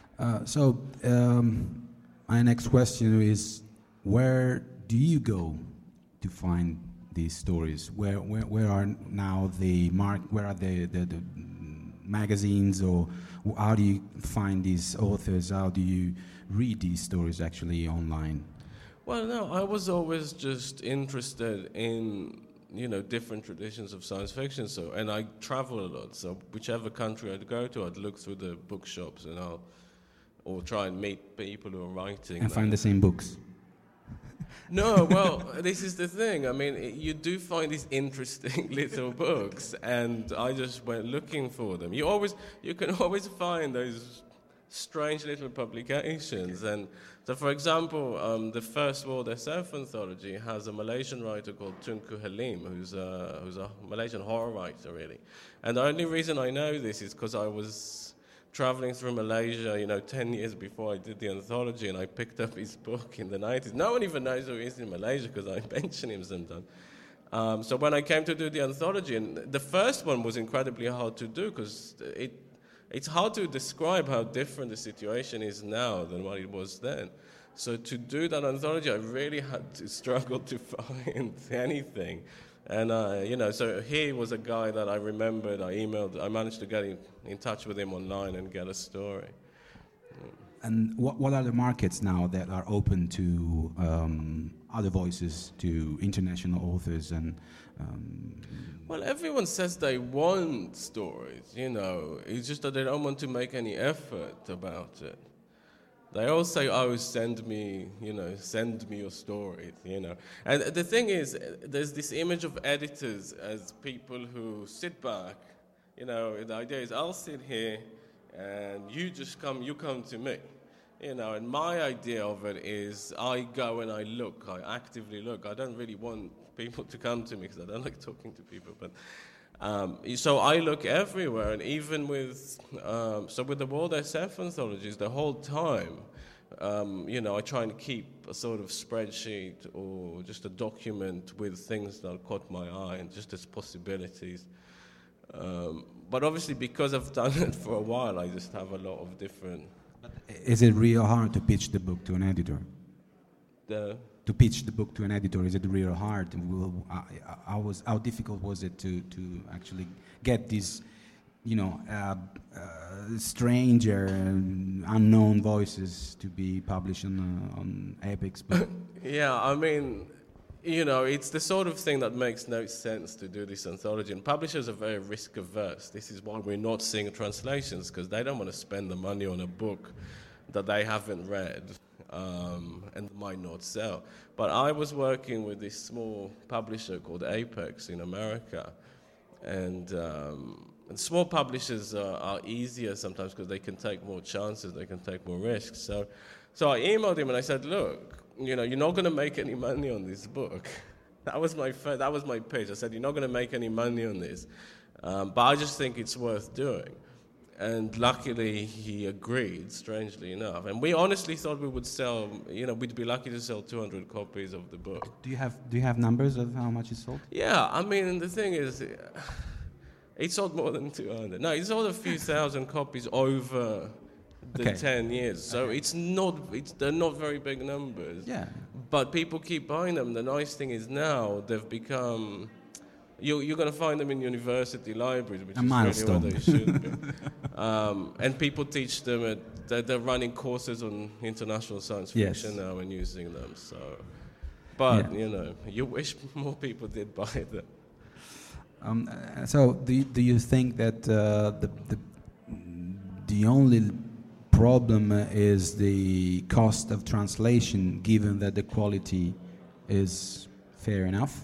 My next question is, where do you go to find these stories? Where are now where are the magazines, or how do you find these authors? How do you read these stories actually online? Well, no, I was always just interested in different traditions of science fiction. And I travel a lot. So whichever country I'd go to, I'd look through the bookshops or try and meet people who are writing. And find the same books. No, well, this is the thing. I mean, you do find these interesting little books, and I just went looking for them. You can always find those strange little publications. And so, for example, the first World SF anthology has a Malaysian writer called Tunku Halim, who's a Malaysian horror writer, really. And the only reason I know this is because I was traveling through Malaysia, 10 years before I did the anthology, and I picked up his book in the 90s. No one even knows who he is in Malaysia because I mention him sometimes. So when I came to do the anthology, and the first one was incredibly hard to do because it's hard to describe how different the situation is now than what it was then. So to do that anthology, I really had to struggle to find anything. And, so he was a guy that I remembered, I managed to get in touch with him online and get a story. And what are the markets now that are open to other voices, to international authors? Well, everyone says they want stories, It's just that they don't want to make any effort about it. They all say, send me your stories, And the thing is, there's this image of editors as people who sit back, the idea is I'll sit here and you come to me, and my idea of it is I go and I look, I actively look. I don't really want people to come to me because I don't like talking to people, but so I look everywhere, and even with the World SF anthologies, the whole time, I try and keep a sort of spreadsheet or just a document with things that caught my eye and just as possibilities. But obviously, because I've done it for a while, I just have a lot of different. Is it real hard to pitch the book to an editor? To pitch the book to an editor, is it real hard? How difficult was it to actually get these, stranger, unknown voices to be published on Epix? Yeah, I mean, it's the sort of thing that makes no sense to do this anthology. And publishers are very risk averse. This is why we're not seeing translations, because they don't want to spend the money on a book that they haven't read. And might not sell. But I was working with this small publisher called Apex in America, and small publishers are easier sometimes because they can take more chances, they can take more risks. So I emailed him and I said, look, you're not going to make any money on this book. That was my pitch. I said, you're not going to make any money on this, but I just think it's worth doing. And luckily, he agreed, strangely enough. And we honestly thought we would sell, we'd be lucky to sell 200 copies of the book. Do you have numbers of how much it sold? Yeah, I mean, the thing is, it sold more than 200. No, it sold a few thousand copies over the 10 years. So they're not very big numbers. Yeah. But people keep buying them. The nice thing is now they've become... You're going to find them in university libraries, which is really where they should be. And people teach them, they're running courses on international science fiction now and using them. So, but, you wish more people did buy them. So do you think that the only problem is the cost of translation, given that the quality is fair enough?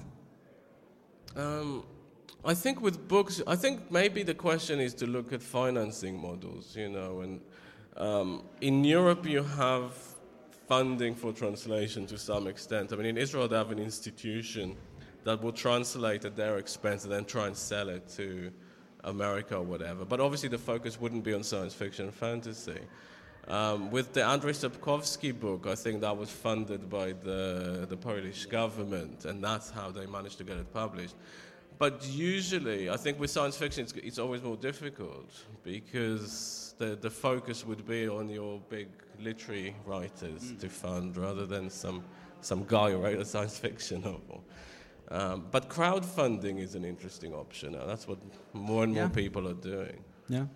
I think with books, I think maybe the question is to look at financing models, and in Europe you have funding for translation to some extent. I mean, in Israel they have an institution that will translate at their expense and then try and sell it to America or whatever. But obviously the focus wouldn't be on science fiction and fantasy. With the Andrzej Sapkowski book, I think that was funded by the Polish government, and that's how they managed to get it published. But usually, I think with science fiction, it's always more difficult because the focus would be on your big literary writers to fund rather than some guy who wrote a science fiction novel. But crowdfunding is an interesting option now. That's what more and more people are doing. Yeah.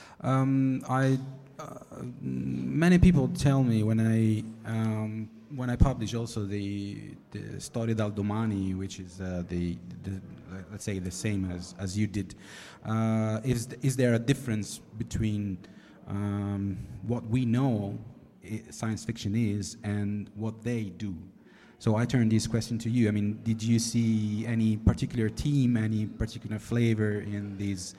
Many people tell me when I publish also the Storia dal Domani, which is the let's say the same as you did. Is there a difference between what we know science fiction is and what they do? So I turn this question to you. I mean, did you see any particular theme, any particular flavor in these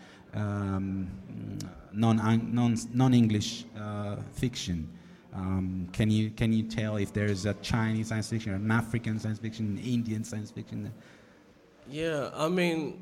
non-English fiction? Can you tell if there's a Chinese science fiction, an African science fiction, an Indian science fiction? Yeah, I mean,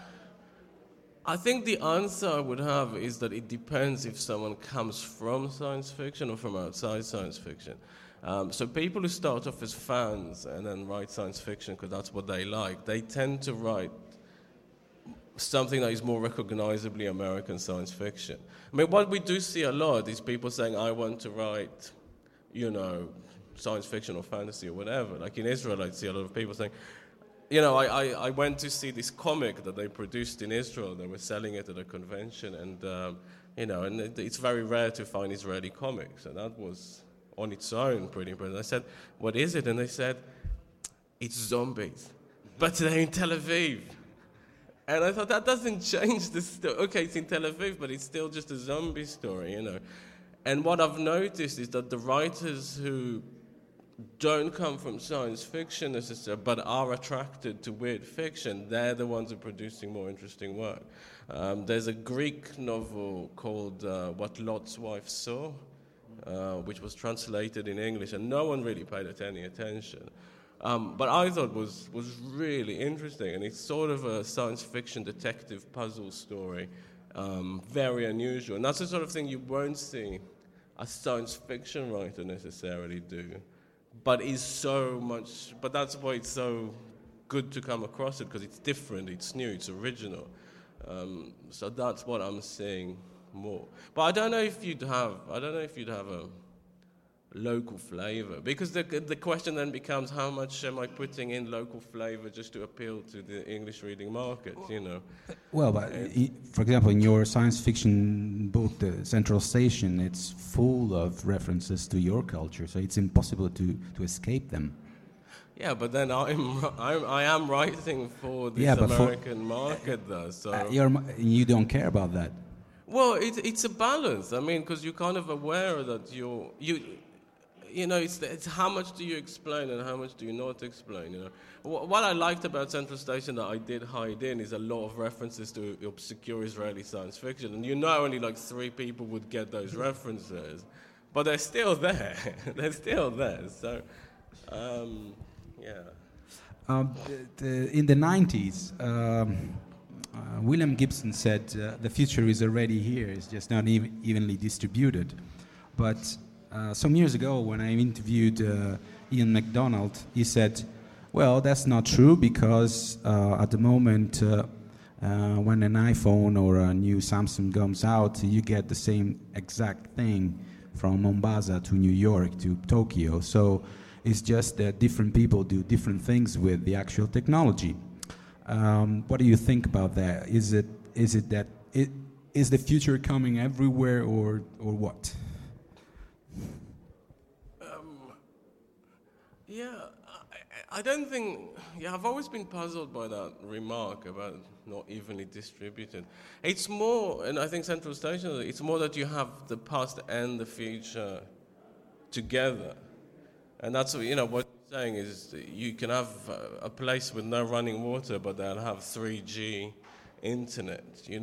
I think the answer I would have is that it depends if someone comes from science fiction or from outside science fiction. So people who start off as fans and then write science fiction because that's what they like, they tend to write something that is more recognizably American science fiction. I mean, what we do see a lot is people saying, I want to write, science fiction or fantasy or whatever. Like in Israel, I see a lot of people saying, I went to see this comic that they produced in Israel. They were selling it at a convention, and, it's very rare to find Israeli comics, and that was on its own pretty impressive. I said, what is it? And they said, it's zombies, but they're in Tel Aviv. And I thought, that doesn't change the story. Okay, it's in Tel Aviv, but it's still just a zombie story, And what I've noticed is that the writers who don't come from science fiction necessarily, but are attracted to weird fiction, they're the ones who are producing more interesting work. There's a Greek novel called What Lot's Wife Saw, which was translated in English, and no one really paid it any attention. But I thought was really interesting, and it's sort of a science fiction detective puzzle story, very unusual. And that's the sort of thing you won't see a science fiction writer necessarily do, but that's why it's so good to come across it, because it's different, it's new, it's original. So that's what I'm seeing more. But I don't know if you'd have a local flavor, because the question then becomes, how much am I putting in local flavor just to appeal to the English reading market, Well, but for example, in your science fiction book, The Central Station, it's full of references to your culture, so it's impossible to escape them. Yeah, but then I am writing for this American market, though. So you don't care about that. Well, it's a balance. I mean, because you're kind of aware that it's how much do you explain and how much do you not explain, What I liked about Central Station that I did hide in is a lot of references to obscure Israeli science fiction. And only like 3 people would get those references, but they're still there. They're still there. So, yeah. In the 90s, William Gibson said, the future is already here, it's just not evenly distributed. But some years ago, when I interviewed Ian MacDonald, he said, well, that's not true, because at the moment, when an iPhone or a new Samsung comes out, you get the same exact thing from Mombasa to New York to Tokyo. So it's just that different people do different things with the actual technology. What do you think about that? Is the future coming everywhere, or what? Yeah, I don't think. Yeah, I've always been puzzled by that remark about not evenly distributed. It's more, and I think Central Station, it's more that you have the past and the future together. And that's what you're saying is you can have a place with no running water, but they'll have 3G internet,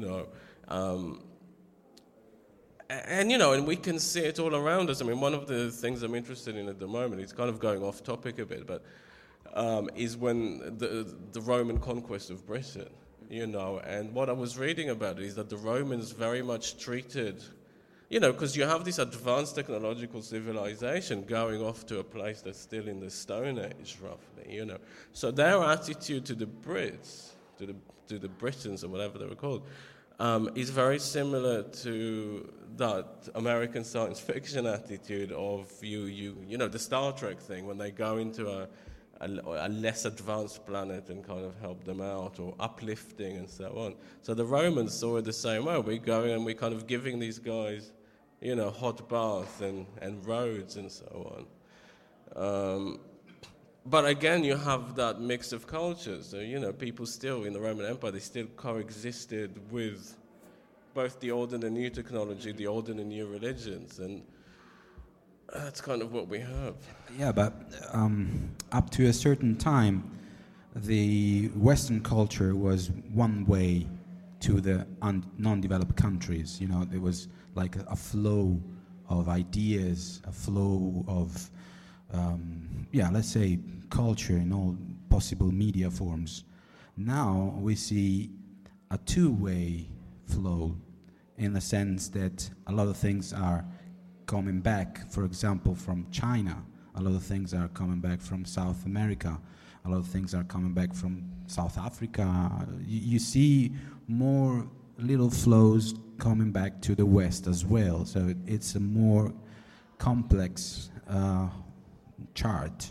and we can see it all around us. I mean, one of the things I'm interested in at the moment, it's kind of going off topic a bit, but is when the Roman conquest of Britain, and what I was reading about it is that the Romans very much treated, because you have this advanced technological civilization going off to a place that's still in the Stone Age, roughly, So their attitude to the Brits, to the Britons or whatever they were called, is very similar to that American science fiction attitude of the Star Trek thing when they go into a less advanced planet and kind of help them out, or uplifting and so on. So the Romans saw it the same way. We're going and we're kind of giving these guys, hot bath and roads and so on. But again, you have that mix of cultures. So, people still in the Roman Empire, they still coexisted with both the old and the new technology, the old and the new religions, and that's kind of what we have. Yeah, but up to a certain time, the Western culture was one way to the non-developed countries. There was like a flow of ideas, a flow of, let's say, culture in all possible media forms. Now we see a two-way flow, in the sense that a lot of things are coming back, for example, from China. A lot of things are coming back from South America. A lot of things are coming back from South Africa. You see more little flows coming back to the West as well. So it's a more complex chart.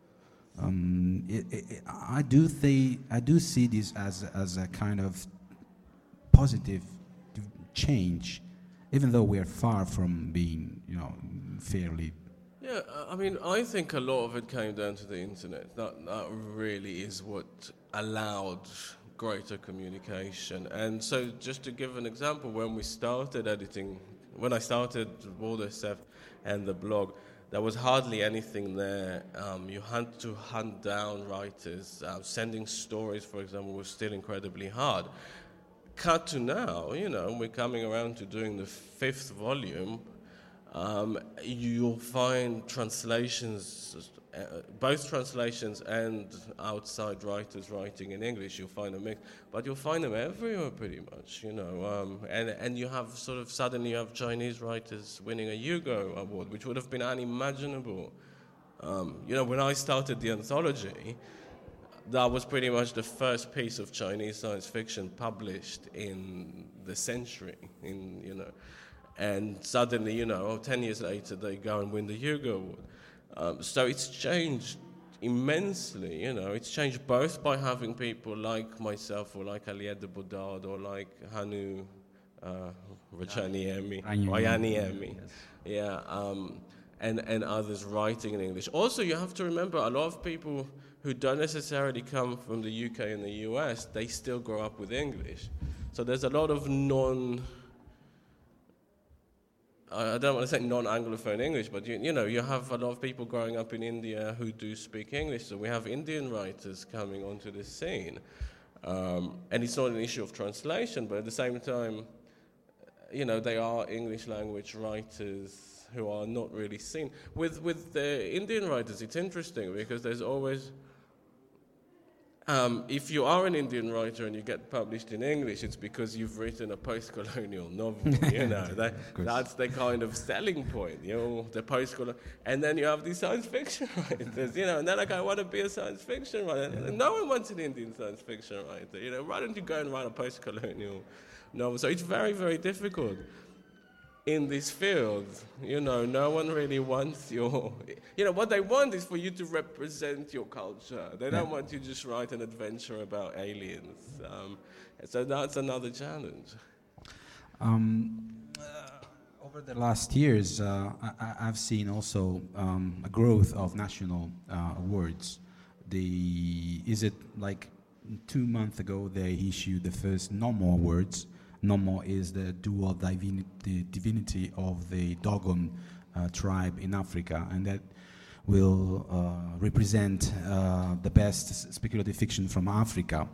I do see this as a kind of positive change, even though we are far from being, fairly. Yeah, I mean, I think a lot of it came down to the internet. That really is what allowed greater communication. And so, just to give an example, when I started Waldo Seth and the blog, there was hardly anything there. You had to hunt down writers. Sending stories, for example, was still incredibly hard. Cut to now, we're coming around to doing the 5th volume. You'll find translations, both translations and outside writers writing in English. You'll find a mix, but you'll find them everywhere pretty much, and you have suddenly you have Chinese writers winning a Hugo Award, which would have been unimaginable. When I started the anthology, that was pretty much the first piece of Chinese science fiction published in the century, and suddenly, 10 years later, they go and win the Hugo Award. So it's changed immensely, It's changed both by having people like myself, or like Aliette de Bodard, or like Hannu Rajaniemi, and others writing in English. Also, you have to remember, a lot of people who don't necessarily come from the UK and the US, they still grow up with English. So there's a lot of I don't want to say non-Anglophone English, but you have a lot of people growing up in India who do speak English. So we have Indian writers coming onto the scene. And it's not an issue of translation, but at the same time, they are English language writers who are not really seen. With the Indian writers, it's interesting because there's always, if you are an Indian writer and you get published in English, it's because you've written a post-colonial novel. That's the kind of selling point. The post-colonial, and then you have these science fiction writers. And they're like, I want to be a science fiction writer. No one wants an Indian science fiction writer. Why don't you go and write a post-colonial novel? So it's very, very difficult. In this field, no one really wants what they want is for you to represent your culture. They don't want you to just write an adventure about aliens. So that's another challenge. Over the last years, I've seen also a growth of national awards. is it like 2 months ago they issued the first No More words. No More is the dual divinity of the Dogon tribe in Africa, and that will represent the best speculative fiction from Africa.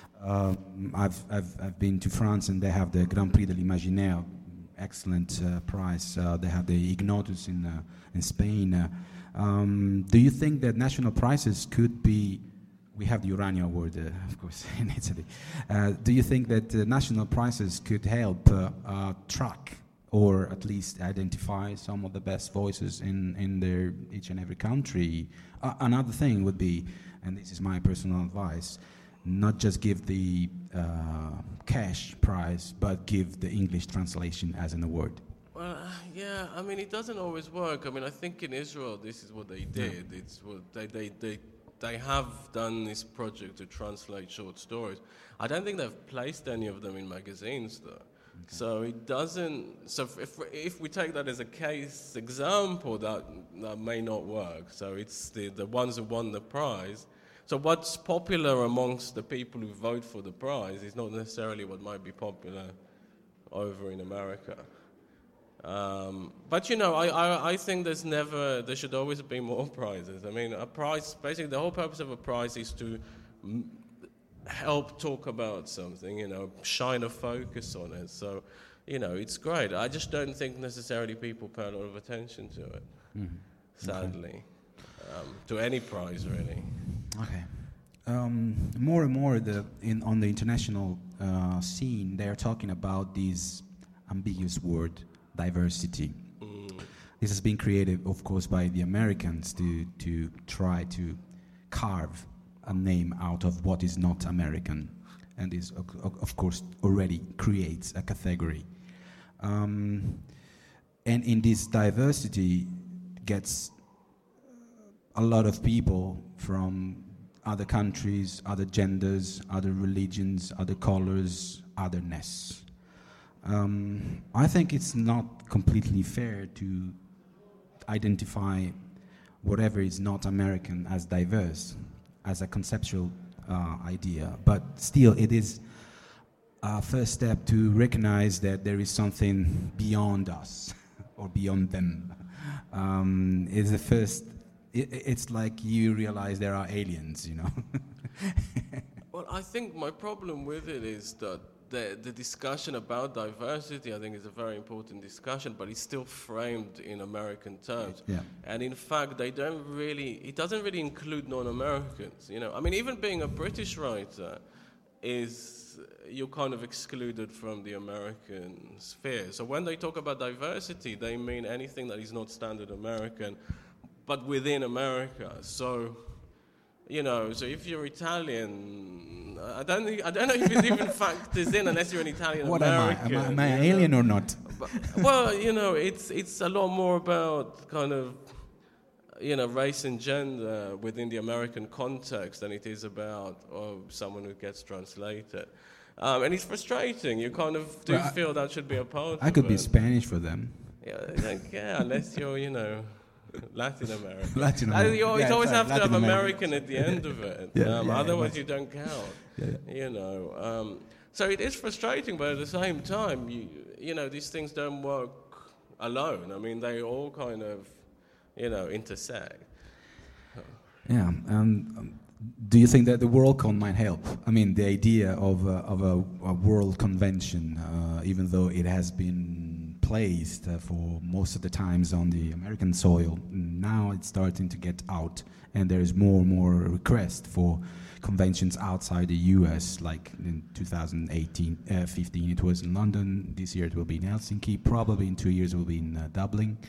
I've been to France, and they have the Grand Prix de l'Imaginaire, excellent prize. They have the Ignotus in Spain. Do you think that national prizes could be? We have the Urania Award, of course, in Italy. Do you think that national prizes could help track or at least identify some of the best voices in their each and every country? Another thing would be, and this is my personal advice, not just give the cash prize, but give the English translation as an award. Well, yeah, I mean, it doesn't always work. I mean, I think in Israel, this is what they did. It's what they have done this project to translate short stories. I don't think they've placed any of them in magazines, though. Okay. So it doesn't. So if we take that as a case example, that may not work. So it's the ones who won the prize. So what's popular amongst the people who vote for the prize is not necessarily what might be popular over in America. But, you know, I think there should always be more prizes. I mean, a prize, basically the whole purpose of a prize is to help talk about something, you know, shine a focus on it. So, you know, it's great. I just don't think necessarily people pay a lot of attention to it, sadly, to any prize, really. Okay. More and more on the international scene, they are talking about this ambiguous word, diversity. This has been created, of course, by the Americans to try to carve a name out of what is not American, and this, of course, already creates a category. And in this diversity gets a lot of people from other countries, other genders, other religions, other colors, otherness. I think it's not completely fair to identify whatever is not American as diverse, as a conceptual idea. But still, it is a first step to recognize that there is something beyond us or beyond them. It's the first. It's like you realize there are aliens, you know. Well, I think my problem with it is that the discussion about diversity, I think, is a very important discussion, but it's still framed in American terms. Yeah. And in fact, it doesn't really include non-Americans, you know. I mean, even being a British writer you're kind of excluded from the American sphere. So when they talk about diversity, they mean anything that is not standard American, but within America. So, you know, so if you're Italian, I don't know if it even factors in unless you're an Italian American. What am I an alien or not? But, well, you know, it's a lot more about kind of, you know, race and gender within the American context than it is about someone who gets translated. And it's frustrating. You kind of do feel that should be a part of it. I could be Spanish for them. Yeah, unless you're, you know, Latin American. You Yeah, always have to Latin have American. American at the end of it. Otherwise you don't count. You know. So it is frustrating, but at the same time, you know, these things don't work alone. I mean, they all kind of, you know, intersect. Yeah. Do you think that the WorldCon might help? I mean, the idea of a world convention, even though it has been placed for most of the times on the American soil, now it's starting to get out, and there is more and more request for conventions outside the US, like in 2015 it was in London, this year it will be in Helsinki, probably in 2 years it will be in Dublin.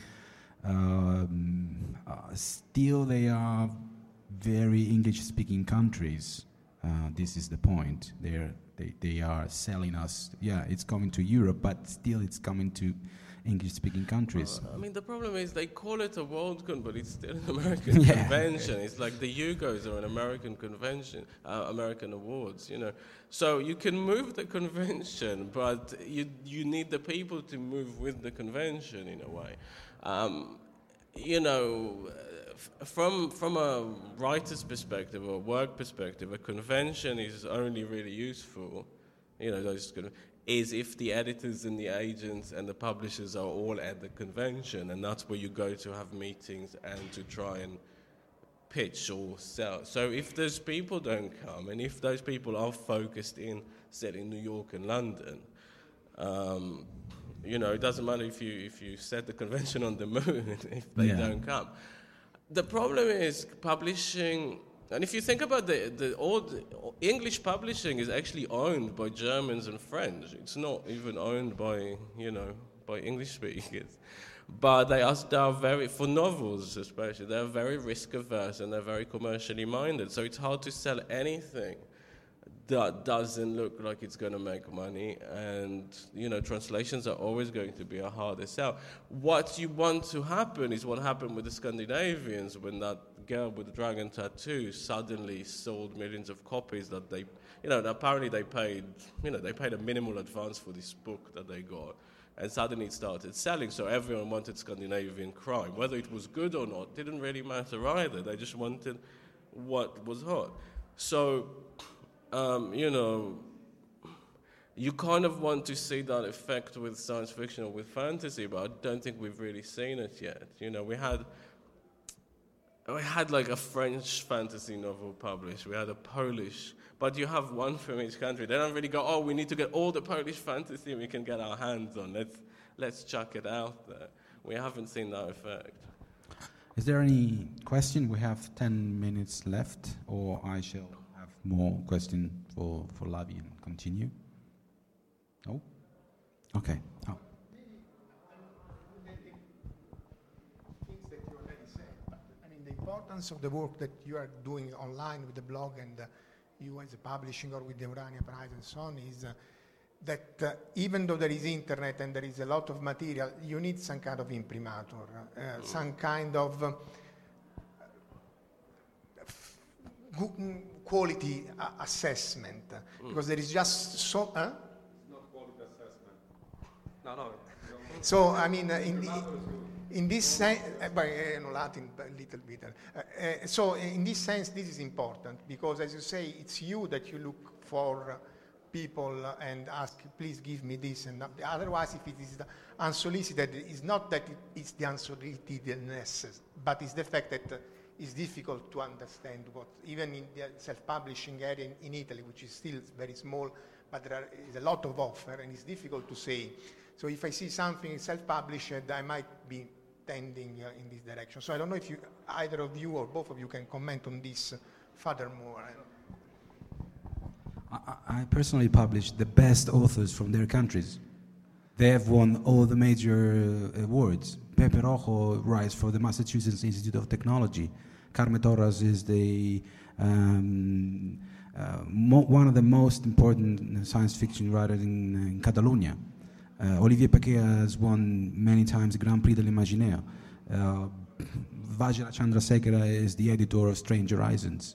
Still they are very English-speaking countries. This is the point. They are selling us. Yeah, it's coming to Europe, but still it's coming to English-speaking countries. I mean, the problem is they call it a WorldCon, but it's still an American convention. It's like the Hugos are an American convention, American awards, you know. So you can move the convention, but you need the people to move with the convention in a way. You know, from a writer's perspective or work perspective, a convention is only really useful, is if the editors and the agents and the publishers are all at the convention, and that's where you go to have meetings and to try and pitch or sell. So if those people don't come, and if those people are focused in, say, in New York and London, it doesn't matter if you set the convention on the moon if they don't come. The problem is publishing, and if you think about the English publishing is actually owned by Germans and French. It's not even owned by English speakers. But they are very, for novels especially, they're very risk averse and they're very commercially minded. So it's hard to sell anything that doesn't look like it's going to make money, and translations are always going to be a harder sell. What you want to happen is what happened with the Scandinavians when that girl with the dragon tattoo suddenly sold millions of copies that they, apparently they paid a minimal advance for this book that they got, and suddenly it started selling. So everyone wanted Scandinavian crime. Whether it was good or not didn't really matter either. They just wanted what was hot. So you kind of want to see that effect with science fiction or with fantasy, but I don't think we've really seen it yet. We had like a French fantasy novel published, we had a Polish, but you have one from each country. They don't really go, we need to get all the Polish fantasy we can get our hands on. Let's chuck it out there. We haven't seen that effect. Is there any question? We have 10 minutes left, or I shall have more question for Lavi and continue. No? Okay. Oh. Things that you already said, but the importance of the work that you are doing online with the blog and you as a publishing or with the Urania Prize and so on is that even though there is internet and there is a lot of material, you need some kind of imprimatur, some kind of quality assessment, because there is just so... It's not quality assessment. No. So, in this sense, Latin a little bit. So, in this sense, this is important, because as you say, it's you that you look for people and ask, please give me this, and otherwise, if it is unsolicited, it's not that it's the unsolicitedness, but it's the fact that it's difficult to understand what, even in the self-publishing area in Italy, which is still very small, but there is a lot of offer, and it's difficult to say. So if I see something self-published, I might be tending in this direction. So I don't know if either of you or both of you can comment on this furthermore. I personally publish the best authors from their countries. They have won all the major awards. Pepe Rojo writes for the Massachusetts Institute of Technology. Carme Torres is one of the most important science fiction writers in Catalonia. Olivier Paquet has won many times the Grand Prix de l'Imaginaire. Vajra Chandrasekhara is the editor of Strange Horizons.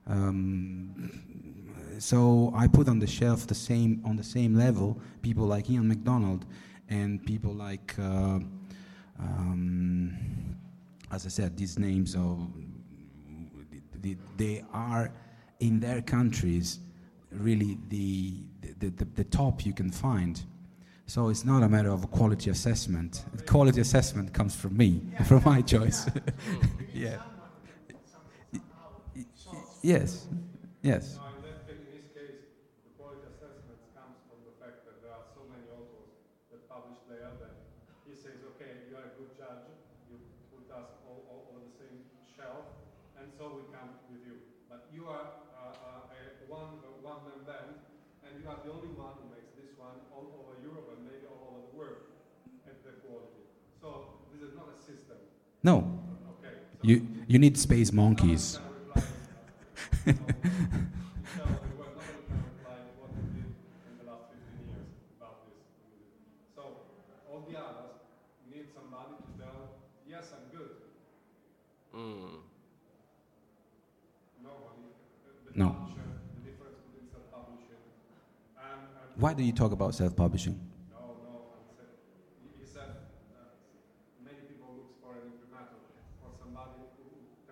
So I put on the shelf on the same level people like Ian MacDonald and people like, as I said, these names they are in their countries really the top you can find. So it's not a matter of a quality assessment. The quality assessment comes from me, from my choice. Yeah. Yes. Yes. No, in this case, the quality assessment comes from the fact that there are so many authors that publish there that he says, okay, you are a good judge, you put us all on the same shelf, and so we come with you. But you are a one-man band, and you are the only one who makes this one all over Europe and maybe all over the world at the quality. So this is not a system. No. Okay. So you need space monkeys. No. Why do you talk about self-publishing? No. He said many people look for an imprimatur, for somebody who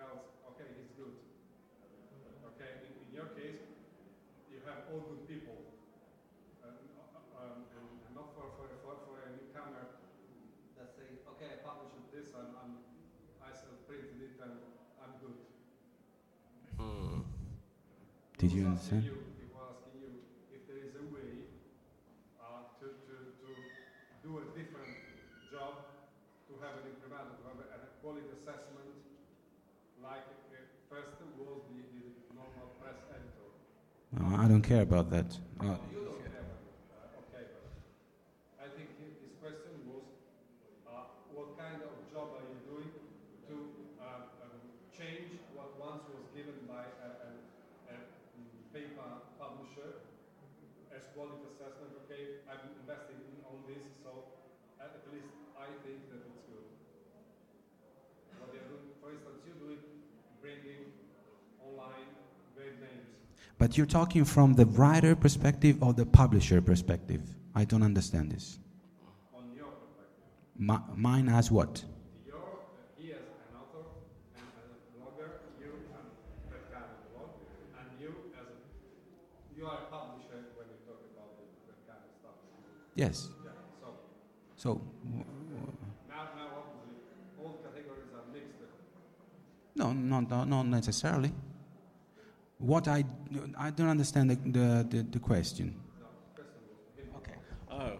Did you understand? People asking you if there is a way to do a different job, to have an incremental, to have a quality assessment, like first was the normal press editor. I don't care about that. You don't care about it. Okay, but I think his question was, what kind of job are you doing to change what once was given by a paper publisher as quality assessment? Okay, I'm investing on this, so at least I think that it's good. What they're doing, for instance, you do it bringing online great names. But you're talking from the writer perspective or the publisher perspective? I don't understand this. On your perspective. Mine as what? He as an author and as a blogger, you and that kind of blog, and you as you are a publisher when you talk about that kind of stuff. Yes. Yeah. So. Now obviously all categories are mixed. No, not necessarily. What I don't understand the question. Okay. Oh, right.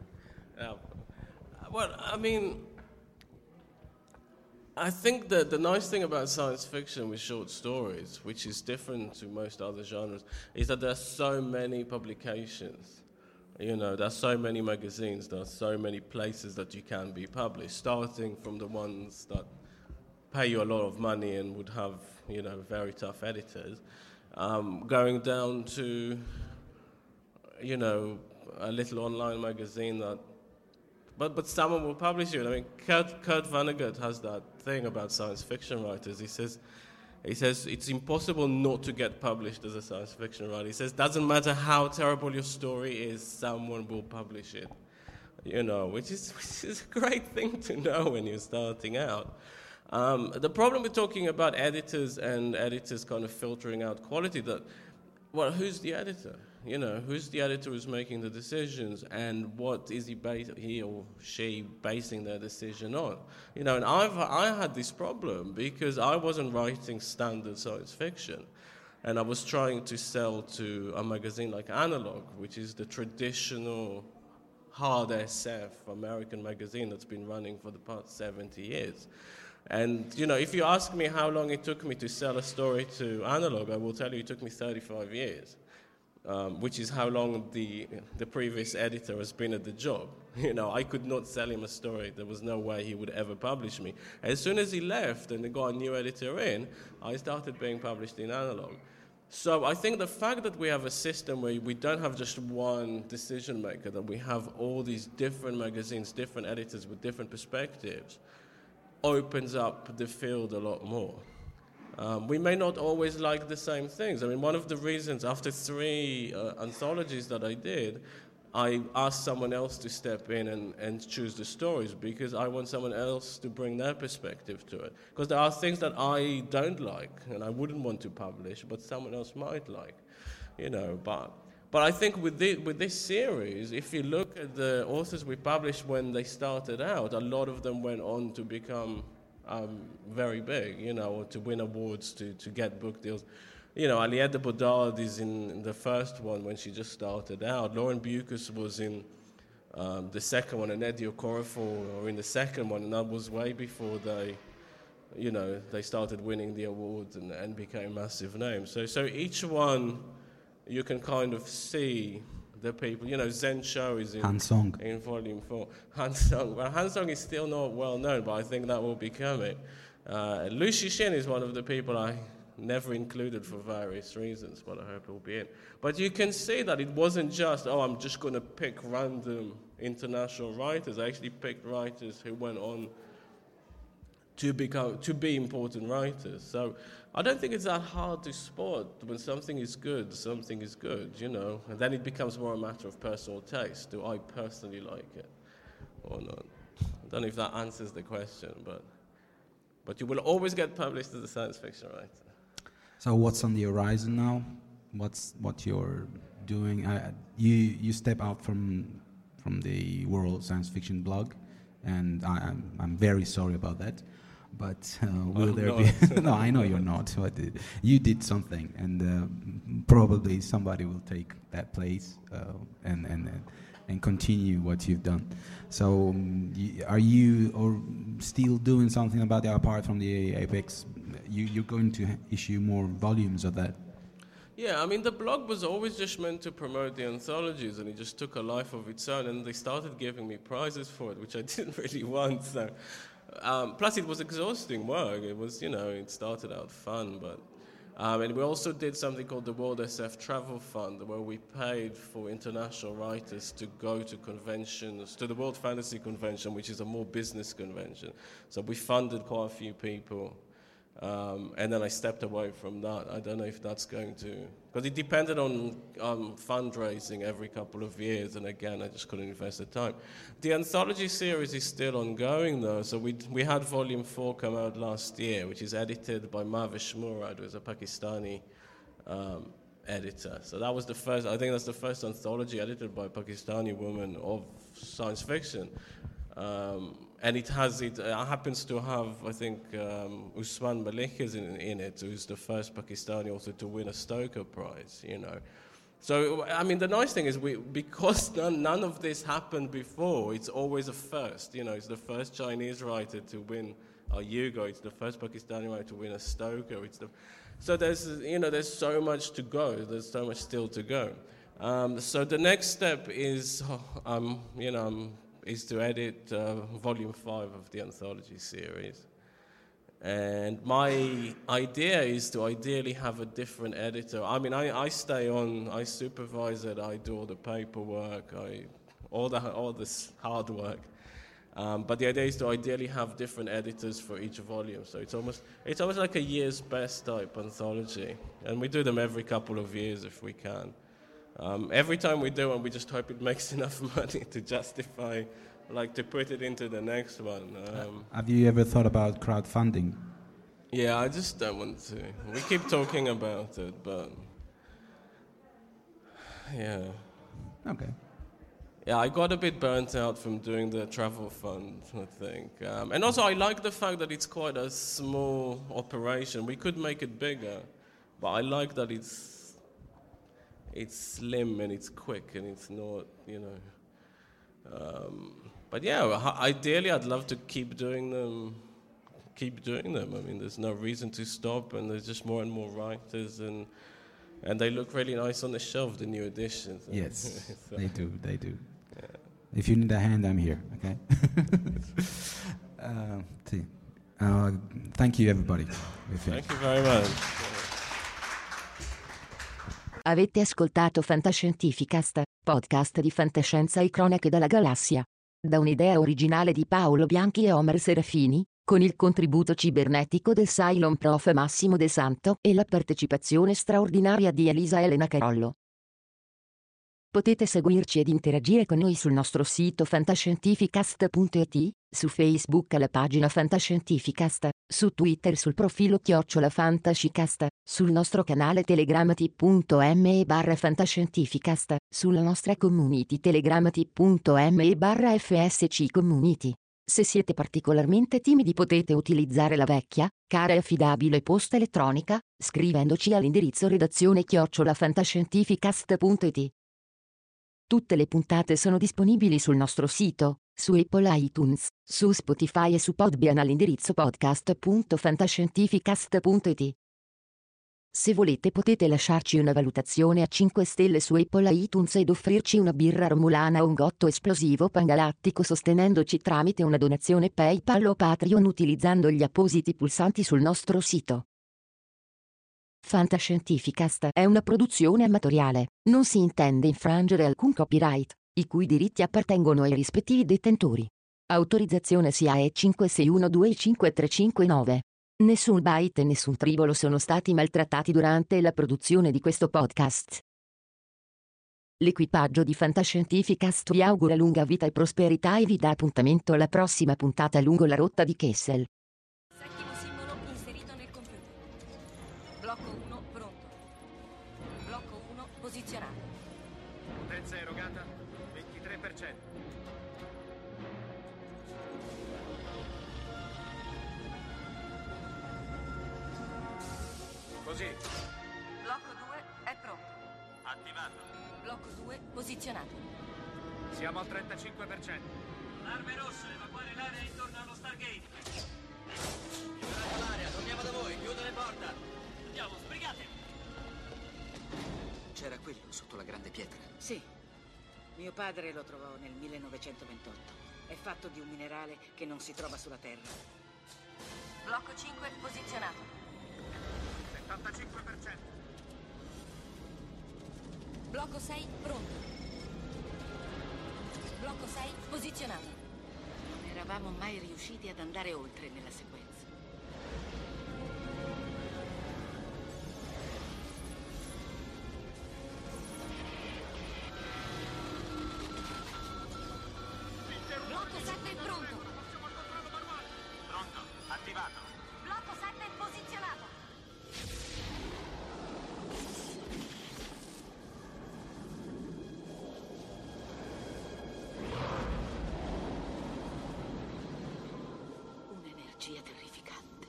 Well, I mean, I think that the nice thing about science fiction with short stories, which is different to most other genres, is that there are so many publications. You know, there are so many magazines, there are so many places that you can be published, starting from the ones that pay you a lot of money and would have, you know, very tough editors, going down to, you know, a little online magazine that, but someone will publish you. I mean, Kurt Vonnegut has that thing about science fiction writers. He says it's impossible not to get published as a science fiction writer. He says doesn't matter how terrible your story is, someone will publish it. You know, which is a great thing to know when you're starting out. The problem with talking about editors and editors kind of filtering out quality, well, who's the editor? You know, who's the editor who's making the decisions, and what is he or she basing their decision on? You know, and I had this problem because I wasn't writing standard science fiction, and I was trying to sell to a magazine like Analog, which is the traditional hard SF American magazine that's been running for the past 70 years. And, you know, if you ask me how long it took me to sell a story to Analog, I will tell you it took me 35 years, which is how long the previous editor has been at the job. You know, I could not sell him a story. There was no way he would ever publish me. As soon as he left and they got a new editor in, I started being published in Analog. So I think the fact that we have a system where we don't have just one decision maker, that we have all these different magazines, different editors with different perspectives, opens up the field a lot more. We may not always like the same things. I mean, one of the reasons, after 3 anthologies that I did, I asked someone else to step in and choose the stories, because I want someone else to bring their perspective to it. Because there are things that I don't like and I wouldn't want to publish, but someone else might like, you know. But I think with this series, if you look at the authors we published when they started out, a lot of them went on to become very big, you know, or to win awards, to get book deals. You know, Aliette de Bodard is in the first one when she just started out. Lauren Bucus was in the second one, and Eddie Okorafor were in the second one, and that was way before they started winning the awards and became massive names. So each one, you can kind of see the people. You know, Zhen Shou is in Volume 4. Han Song. Well, Han Song is still not well known, but I think that will be coming. Liu Cixin is one of the people I never included for various reasons, but I hope it will be in. But you can see that it wasn't just, I'm just going to pick random international writers. I actually picked writers who went on to be important writers. So I don't think it's that hard to spot when something is good, you know, and then it becomes more a matter of personal taste. Do I personally like it or not? I don't know if that answers the question, but you will always get published as a science fiction writer. So what's on the horizon now? What you're doing? You step out from the World Science Fiction blog, and I'm very sorry about that. But will there be? No, I know you're not. But you did something, and probably somebody will take that place and continue what you've done. So, are you still doing something about that apart from the Apex? You're going to issue more volumes of that? Yeah, I mean, the blog was always just meant to promote the anthologies, and it just took a life of its own, and they started giving me prizes for it, which I didn't really want. So, plus it was exhausting work. It was, it started out fun, but and we also did something called the World SF Travel Fund, where we paid for international writers to go to conventions, to the World Fantasy Convention, which is a more business convention. So we funded quite a few people. And then I stepped away from that. I don't know if that's going to... Because it depended on fundraising every couple of years, and again, I just couldn't invest the time. The anthology series is still ongoing, though. So we had Volume 4 come out last year, which is edited by Mavish Murad, who is a Pakistani editor. So that was the first... I think that's the first anthology edited by a Pakistani woman of science fiction. And it happens to have, I think, Usman Malik is in it, who's the first Pakistani author to win a Stoker Prize, So, I mean, the nice thing is because none of this happened before, it's always a first, It's the first Chinese writer to win a Hugo, it's the first Pakistani writer to win a Stoker. So there's so much to go, there's so much still to go. So the next step is, is to edit Volume 5 of the anthology series. And my idea is to ideally have a different editor. I mean, I stay on, I supervise it, I do all the paperwork, all this hard work. But the idea is to ideally have different editors for each volume. So it's almost like a year's best type anthology. And we do them every couple of years if we can. Every time we do one, we just hope it makes enough money to justify, to put it into the next one. Have you ever thought about crowdfunding? Yeah, I just don't want to. We keep talking about it, but yeah. Okay. Yeah, I got a bit burnt out from doing the travel fund, I think. And also, I like the fact that it's quite a small operation. We could make it bigger, but I like that it's slim and it's quick and it's not, but yeah, ideally I'd love to keep doing them. I mean, there's no reason to stop, and there's just more and more writers, and they look really nice on the shelf, the new editions. Yes, so. They do. Yeah. If you need a hand, I'm here, okay? Thank you, everybody. Thank you very much. Avete ascoltato Fantascientificast, podcast di fantascienza e cronache dalla galassia. Da un'idea originale di Paolo Bianchi e Omer Serafini, con il contributo cibernetico del Cylon Prof Massimo De Santo e la partecipazione straordinaria di Elisa Elena Carollo. Potete seguirci ed interagire con noi sul nostro sito fantascientificast.it, su Facebook alla pagina Fantascientificast, su Twitter sul profilo @Fantascicast, sul nostro canale Telegram t.me/fantascientificast, sulla nostra community Telegram t.me/FSC Community. Se siete particolarmente timidi potete utilizzare la vecchia, cara e affidabile posta elettronica, scrivendoci all'indirizzo redazione@fantascientificast.it. Tutte le puntate sono disponibili sul nostro sito, su Apple iTunes, su Spotify e su Podbean all'indirizzo podcast.fantascientificast.it. Se volete potete lasciarci una valutazione a 5 stelle su Apple iTunes ed offrirci una birra romulana o un gotto esplosivo pangalattico sostenendoci tramite una donazione PayPal o Patreon utilizzando gli appositi pulsanti sul nostro sito. Fantascientificast è una produzione amatoriale, non si intende infrangere alcun copyright, i cui diritti appartengono ai rispettivi detentori. Autorizzazione SIAE 56125359. Nessun byte e nessun tribolo sono stati maltrattati durante la produzione di questo podcast. L'equipaggio di Fantascientificast vi augura lunga vita e prosperità e vi dà appuntamento alla prossima puntata lungo la rotta di Kessel. Settimo simbolo inserito nel computer. Blocco 1 pronto. Blocco 1 posizionato. Potenza erogata 23%. 23%. così. Blocco 2 è pronto. Attivato. Blocco 2 posizionato. Siamo al 35%. Arme rosse, evacuare l'area intorno allo Stargate. Liberate l'area, torniamo da voi, chiudo le porte. Andiamo, sbrigatevi. C'era quello sotto la grande pietra. Sì. Mio padre lo trovò nel 1928. È fatto di un minerale che non si trova sulla Terra. Blocco 5 posizionato. 75%. Blocco 6 pronto. Blocco 6 posizionato. Non eravamo mai riusciti ad andare oltre nella sequenza. Blocco 7 pronto. Pronto, attivato. Blocco 7 posizionato. Un'energia terrificante.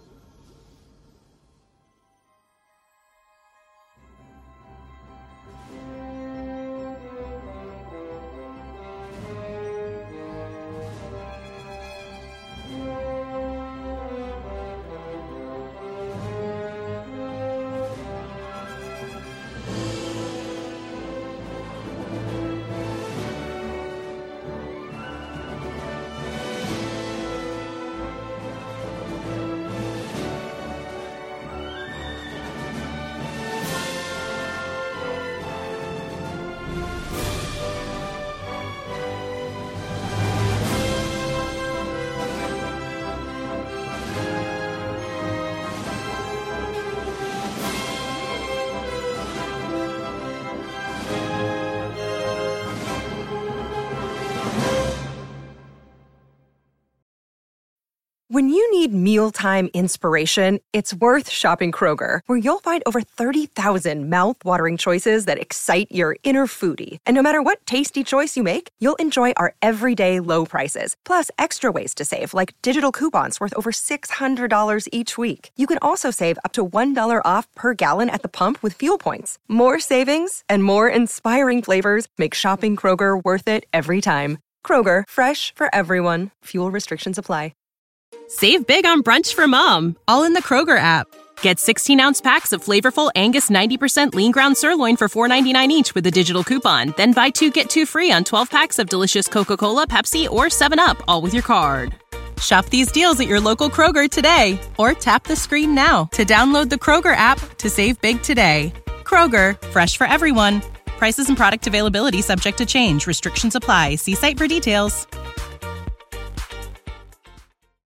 When you need mealtime inspiration, it's worth shopping Kroger, where you'll find over 30,000 mouth-watering choices that excite your inner foodie. And no matter what tasty choice you make, you'll enjoy our everyday low prices, plus extra ways to save, like digital coupons worth over $600 each week. You can also save up to $1 off per gallon at the pump with fuel points. More savings and more inspiring flavors make shopping Kroger worth it every time. Kroger, fresh for everyone. Fuel restrictions apply. Save big on brunch for mom, all in the Kroger app. Get 16-ounce packs of flavorful Angus 90% lean ground sirloin for $4.99 each with a digital coupon. Then buy 2, get 2 free on 12 packs of delicious Coca-Cola, Pepsi, or 7-Up, all with your card. Shop these deals at your local Kroger today, or tap the screen now to download the Kroger app to save big today. Kroger, fresh for everyone. Prices and product availability subject to change. Restrictions apply. See site for details.